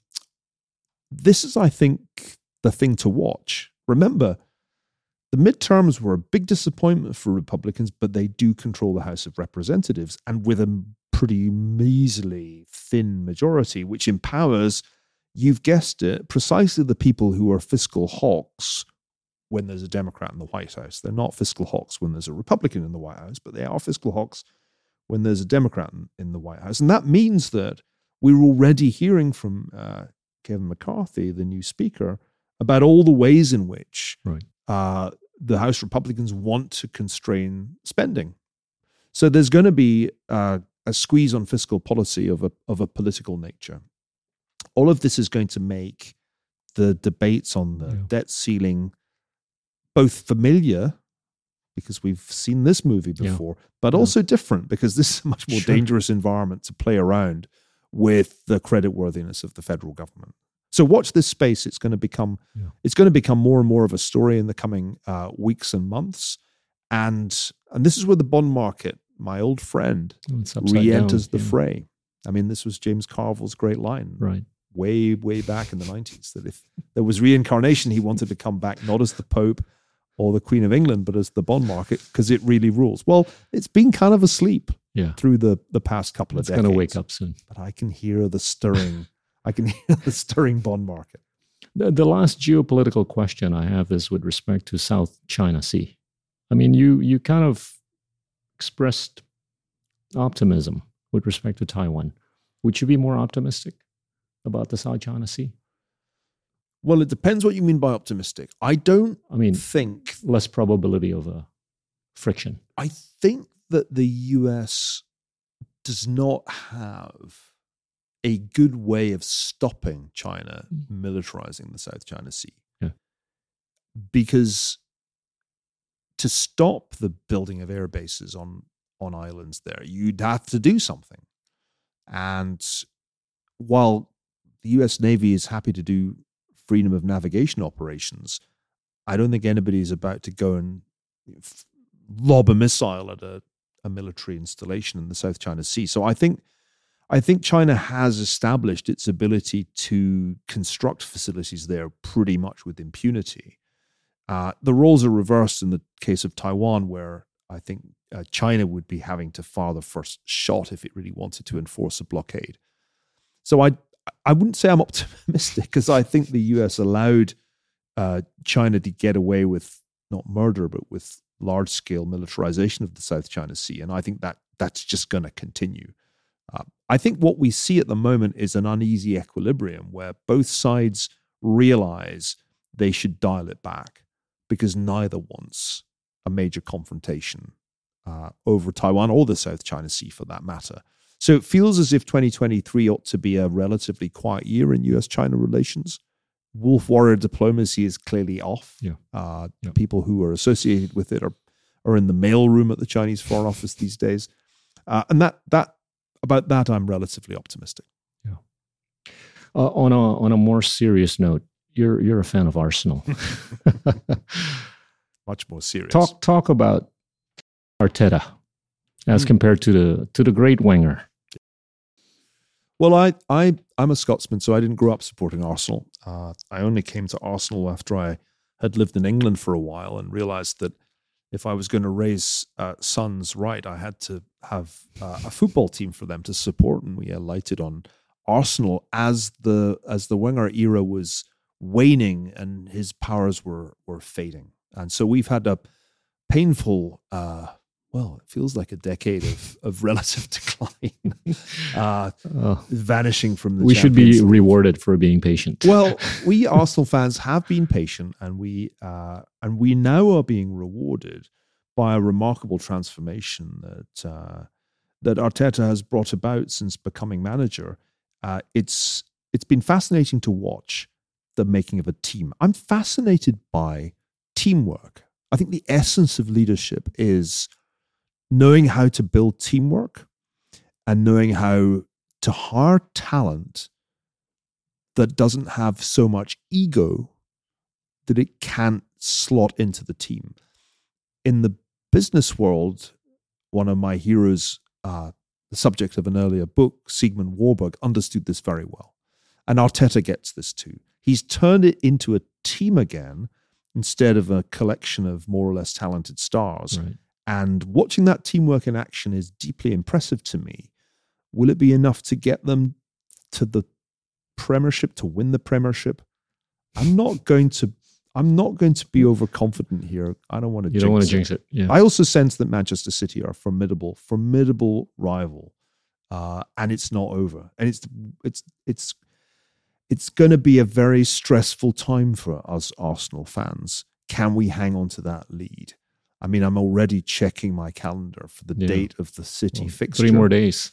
this is, I think, the thing to watch. Remember, the midterms were a big disappointment for Republicans, but they do control the House of Representatives, and with a pretty measly thin majority, which empowers, you've guessed it, precisely the people who are fiscal hawks when there's a Democrat in the White House. They're not fiscal hawks when there's a Republican in the White House, but they are fiscal hawks when there's a Democrat in, in the White House. And that means that we're already hearing from uh, Kevin McCarthy, the new speaker, about all the ways in which Right. uh, the House Republicans want to constrain spending. So there's going to be uh, a squeeze on fiscal policy of a of a political nature. All of this is going to make the debates on the Yeah. debt ceiling both familiar, because we've seen this movie Yeah. before, but Yeah. also different, because this is a much more Sure. dangerous environment to play around with the creditworthiness of the federal government. So watch this space. It's going to become Yeah. it's going to become more and more of a story in the coming uh, weeks and months. And and this is where the bond market, my old friend, It's upside re-enters down. the Yeah. fray. I mean, this was James Carville's great line Right. way, way back in the nineties, that if there was reincarnation, he wanted to come back not as the Pope or the Queen of England, but as the bond market, because it really rules. Well, it's been kind of asleep Yeah. through the, the past couple It's of going decades. to wake up soon. But I can hear the stirring. I can hear the stirring bond market. The, the last geopolitical question I have is with respect to South China Sea. I mean, you you kind of expressed optimism with respect to Taiwan. Would you be more optimistic about the South China Sea? Well, it depends what you mean by optimistic. I don't I mean, think, less probability of a friction. I think that the U S does not have a good way of stopping China Mm. militarizing the South China Sea. Yeah. Because to stop the building of air bases on, on islands there, you'd have to do something. And while the U S Navy is happy to do freedom of navigation operations, I don't think anybody's about to go and f- lob a missile at a, a military installation in the South China Sea. So I think I think China has established its ability to construct facilities there pretty much with impunity. Uh, the roles are reversed in the case of Taiwan, where I think uh, China would be having to fire the first shot if it really wanted to enforce a blockade. So I I wouldn't say I'm optimistic, because I think the U S allowed uh, China to get away with not murder, but with large-scale militarization of the South China Sea. And I think that that's just going to continue. Uh, I think what we see at the moment is an uneasy equilibrium where both sides realize they should dial it back, because neither wants a major confrontation uh, over Taiwan or the South China Sea for that matter. So it feels as if twenty twenty-three ought to be a relatively quiet year in U S China relations. Wolf warrior diplomacy is clearly off. Yeah. Uh, Yeah. People who are associated with it are, are in the mailroom at the Chinese Foreign Office these days. Uh, and that that about that, I'm relatively optimistic. Yeah. Uh, on a on a more serious note, you're you're a fan of Arsenal. Much more serious. talk talk about Arteta as Hmm. compared to the to the great Wenger. Well, I, I, I'm a Scotsman, so I didn't grow up supporting Arsenal. Uh, I only came to Arsenal after I had lived in England for a while and realized that if I was going to raise uh, sons right, I had to have uh, a football team for them to support, and we alighted on Arsenal as the as the Wenger era was waning and his powers were were fading, and so we've had a painful. Uh, Well, it feels like a decade of, of relative decline, uh, Oh. vanishing from the We should Champions be League. rewarded for being patient. Well, we Arsenal fans have been patient, and we uh, and we now are being rewarded by a remarkable transformation that uh, that Arteta has brought about since becoming manager. Uh, it's it's been fascinating to watch the making of a team. I'm fascinated by teamwork. I think the essence of leadership is knowing how to build teamwork and knowing how to hire talent that doesn't have so much ego that it can't slot into the team. In the business world, one of my heroes, uh, the subject of an earlier book, Sigmund Warburg, understood this very well. And Arteta gets this too. He's turned it into a team again instead of a collection of more or less talented stars. Right. And watching that teamwork in action is deeply impressive to me. Will it be enough to get them to the Premiership, to win the Premiership? I'm not going to. I'm not going to be overconfident here. I don't want to. You don't want to jinx it. Yeah. I also sense that Manchester City are a formidable, formidable rival, uh, and it's not over. And it's it's it's it's going to be a very stressful time for us Arsenal fans. Can we hang on to that lead? I mean, I'm already checking my calendar for the Yeah. date of the City Well, fixture. Three more days.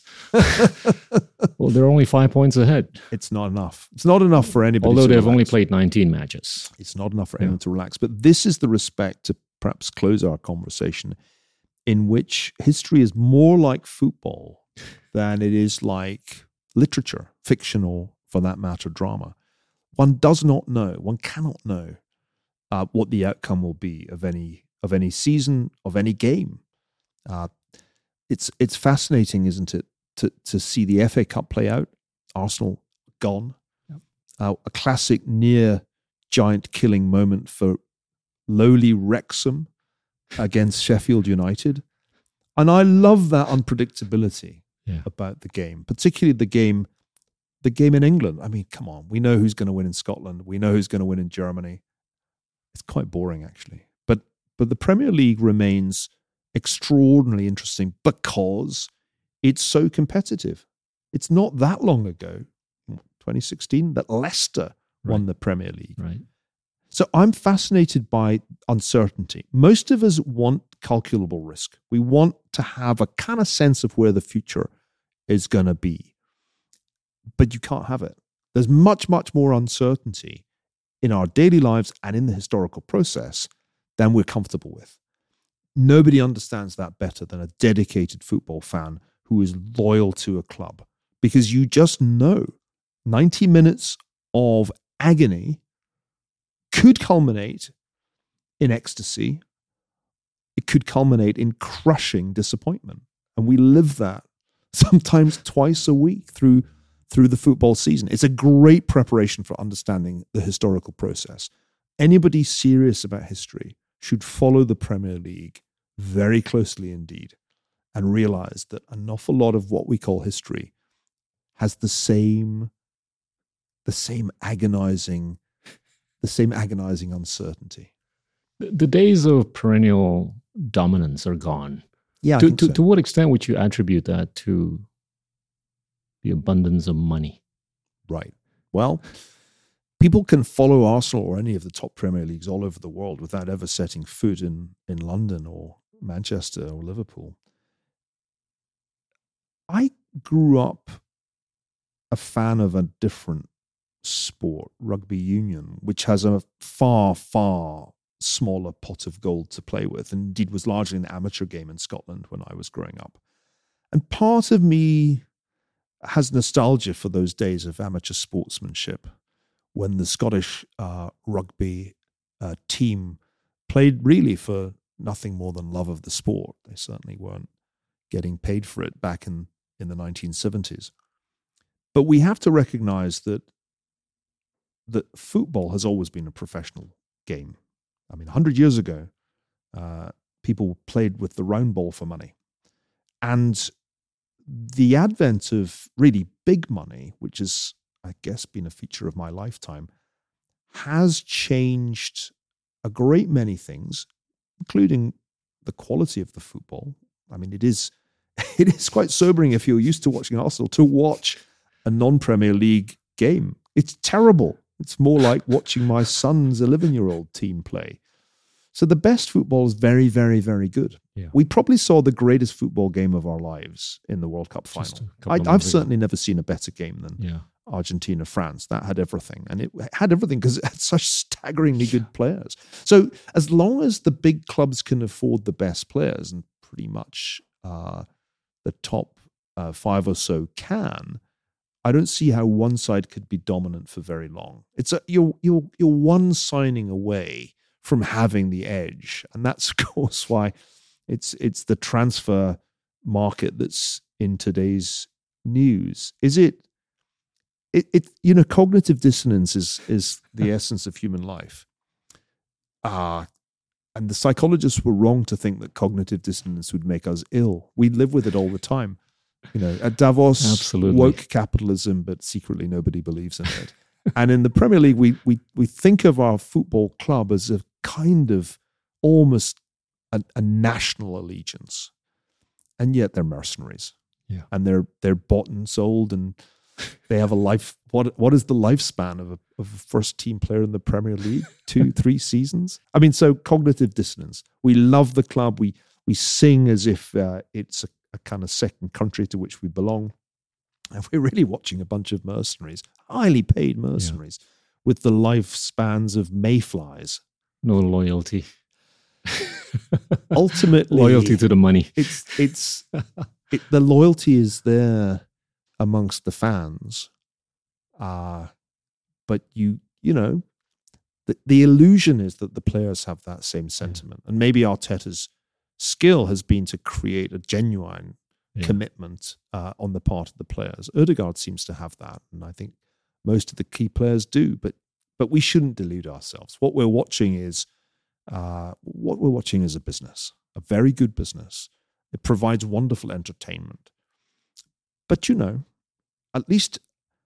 Well, they're only five points ahead. It's not enough. It's not enough for anybody. Although to they've only relax. played nineteen matches. It's not enough for Yeah. anyone to relax. But this is the respect, to perhaps close our conversation, in which history is more like football than it is like literature, fiction, or for that matter, drama. One does not know, one cannot know uh, what the outcome will be of any of any season, of any game. Uh, it's it's fascinating, isn't it, to to see the F A Cup play out. Arsenal gone. Yep. Uh, a classic near giant killing moment for lowly Wrexham against Sheffield United. And I love that unpredictability Yeah. about the game, particularly the game the game in England. I mean, come on, we know who's going to win in Scotland. We know who's going to win in Germany. It's quite boring, actually. But but the Premier League remains extraordinarily interesting because it's so competitive. It's not that long ago, twenty sixteen, that Leicester won Right. the Premier League. Right. So I'm fascinated by uncertainty. Most of us want calculable risk. We want to have a kind of sense of where the future is going to be. But you can't have it. There's much, much more uncertainty in our daily lives and in the historical process than we're comfortable with. Nobody understands that better than a dedicated football fan who is loyal to a club, because you just know ninety minutes of agony could culminate in ecstasy. It could culminate in crushing disappointment. And we live that sometimes twice a week through through the football season. It's a great preparation for understanding the historical process. Anybody serious about history should follow the Premier League very closely indeed and realize that an awful lot of what we call history has the same, the same agonizing, the same agonizing uncertainty. The, the days of perennial dominance are gone. Yeah, I To, think to, so. to what extent would you attribute that to the abundance of money? Right. Well, people can follow Arsenal or any of the top Premier Leagues all over the world without ever setting foot in, in London or Manchester or Liverpool. I grew up a fan of a different sport, rugby union, which has a far, far smaller pot of gold to play with, and indeed was largely an amateur game in Scotland when I was growing up. And part of me has nostalgia for those days of amateur sportsmanship when the Scottish uh, rugby uh, team played really for nothing more than love of the sport. They certainly weren't getting paid for it back in, in the nineteen seventies. But we have to recognize that that football has always been a professional game. I mean, one hundred years ago, uh, people played with the round ball for money. And the advent of really big money, which has, I guess, been a feature of my lifetime, has changed a great many things, including the quality of the football. I mean, it is it is quite sobering if you're used to watching Arsenal to watch a non-Premier League game. It's terrible. It's more like watching my son's eleven-year-old team play. So the best football is very, very, very good. Yeah. We probably saw the greatest football game of our lives in the World Cup final. I, I've certainly never seen a better game than yeah. Argentina-France. That had everything. And it had everything because it had such staggeringly good players. So as long as the big clubs can afford the best players, and pretty much uh, the top uh, five or so can, I don't see how one side could be dominant for very long. It's a, you're, you're, you're one signing away from having the edge. And that's, of course, why it's it's the transfer market that's in today's news. Is it, it, it you know, cognitive dissonance is, is the essence of human life. Uh, and the psychologists were wrong to think that cognitive dissonance would make us ill. We live with it all the time. You know, at Davos, Absolutely. Woke capitalism, but secretly nobody believes in it. And in the Premier League, we we we think of our football club as a kind of almost a, a national allegiance, and yet they're mercenaries. Yeah, and they're they're bought and sold, and they have a life. What what is the lifespan of a of a first team player in the Premier League? Two, three seasons. I mean, so cognitive dissonance. We love the club. We we sing as if uh, it's a, a kind of second country to which we belong. And we're really watching a bunch of mercenaries, highly paid mercenaries, yeah. with the lifespans of mayflies. No loyalty. Ultimately, loyalty to the money. It's it's it, the loyalty is there amongst the fans, uh, but you you know the the illusion is that the players have that same sentiment, yeah. and maybe Arteta's skill has been to create a genuine. Yeah. commitment uh, on the part of the players. Ødegaard seems to have that, and I think most of the key players do. But but we shouldn't delude ourselves. What we're watching is uh, what we're watching is a business, a very good business. It provides wonderful entertainment. But you know, at least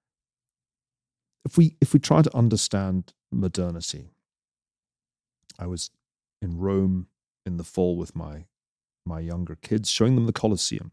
if we if we try to understand modernity, I was in Rome in the fall with my my younger kids, showing them the Colosseum.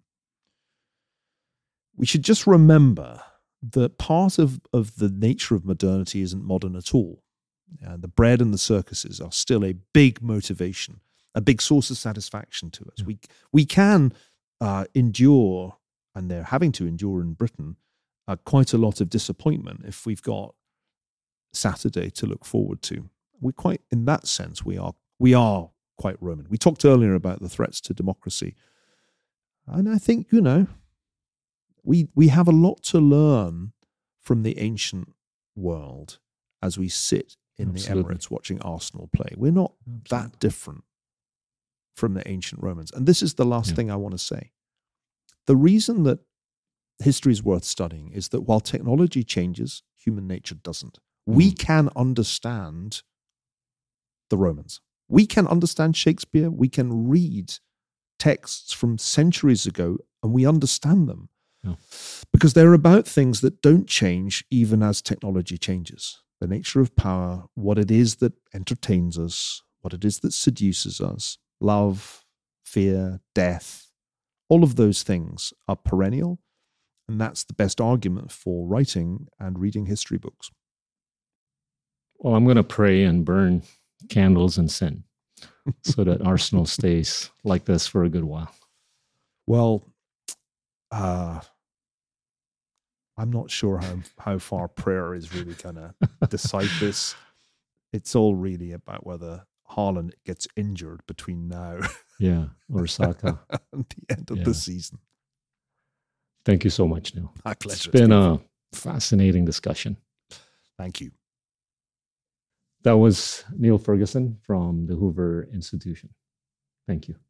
We should just remember that part of, of the nature of modernity isn't modern at all. Uh, the bread and the circuses are still a big motivation, a big source of satisfaction to us. Yeah. We we can uh, endure, and they're having to endure in Britain, uh, quite a lot of disappointment if we've got Saturday to look forward to. We're quite, in that sense, we are we are quite Roman. We talked earlier about the threats to democracy, and I think, you know, we we have a lot to learn from the ancient world as we sit in Absolutely. the Emirates watching Arsenal play. We're not Absolutely. that different from the ancient Romans. And this is the last yeah. thing I want to say. The reason that history is worth studying is that while technology changes, human nature doesn't. Mm. We can understand the Romans. We can understand Shakespeare. We can read texts from centuries ago, and we understand them. Yeah. Because they're about things that don't change even as technology changes. The nature of power, what it is that entertains us, what it is that seduces us, love, fear, death, all of those things are perennial. And that's the best argument for writing and reading history books. Well, I'm going to pray and burn candles and sin so that Arsenal stays like this for a good while. Well, uh, I'm not sure how, how far prayer is really going to decide this. It's all really about whether Haaland gets injured between now yeah, or Saka and the end of yeah. the season. Thank you so much, Neil. My pleasure. It's been a fascinating discussion. Thank you. That was Neil Ferguson from the Hoover Institution. Thank you.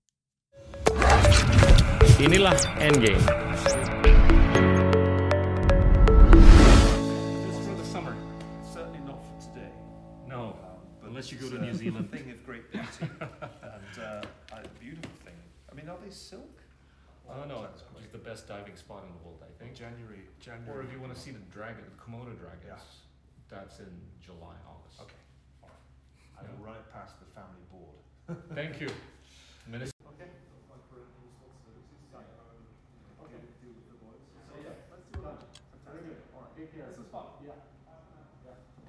Inilah Endgame. Just for the summer, certainly not for today. No. but Unless you go it's, to uh, New Zealand. a thing of great beauty and uh, a beautiful thing. I mean, are they silk? Oh no, Sounds it's great. the best diving spot in the world, I think. January, January. Or if you want to see the dragon, the Komodo dragons, Yeah. that's in July, August. Okay, all right. I will Yeah. run it past the family board. Thank you, Minister. Okay. Okay. So yeah, let's do that. Very good. All right. Take care. This is fun. Yeah. Yeah.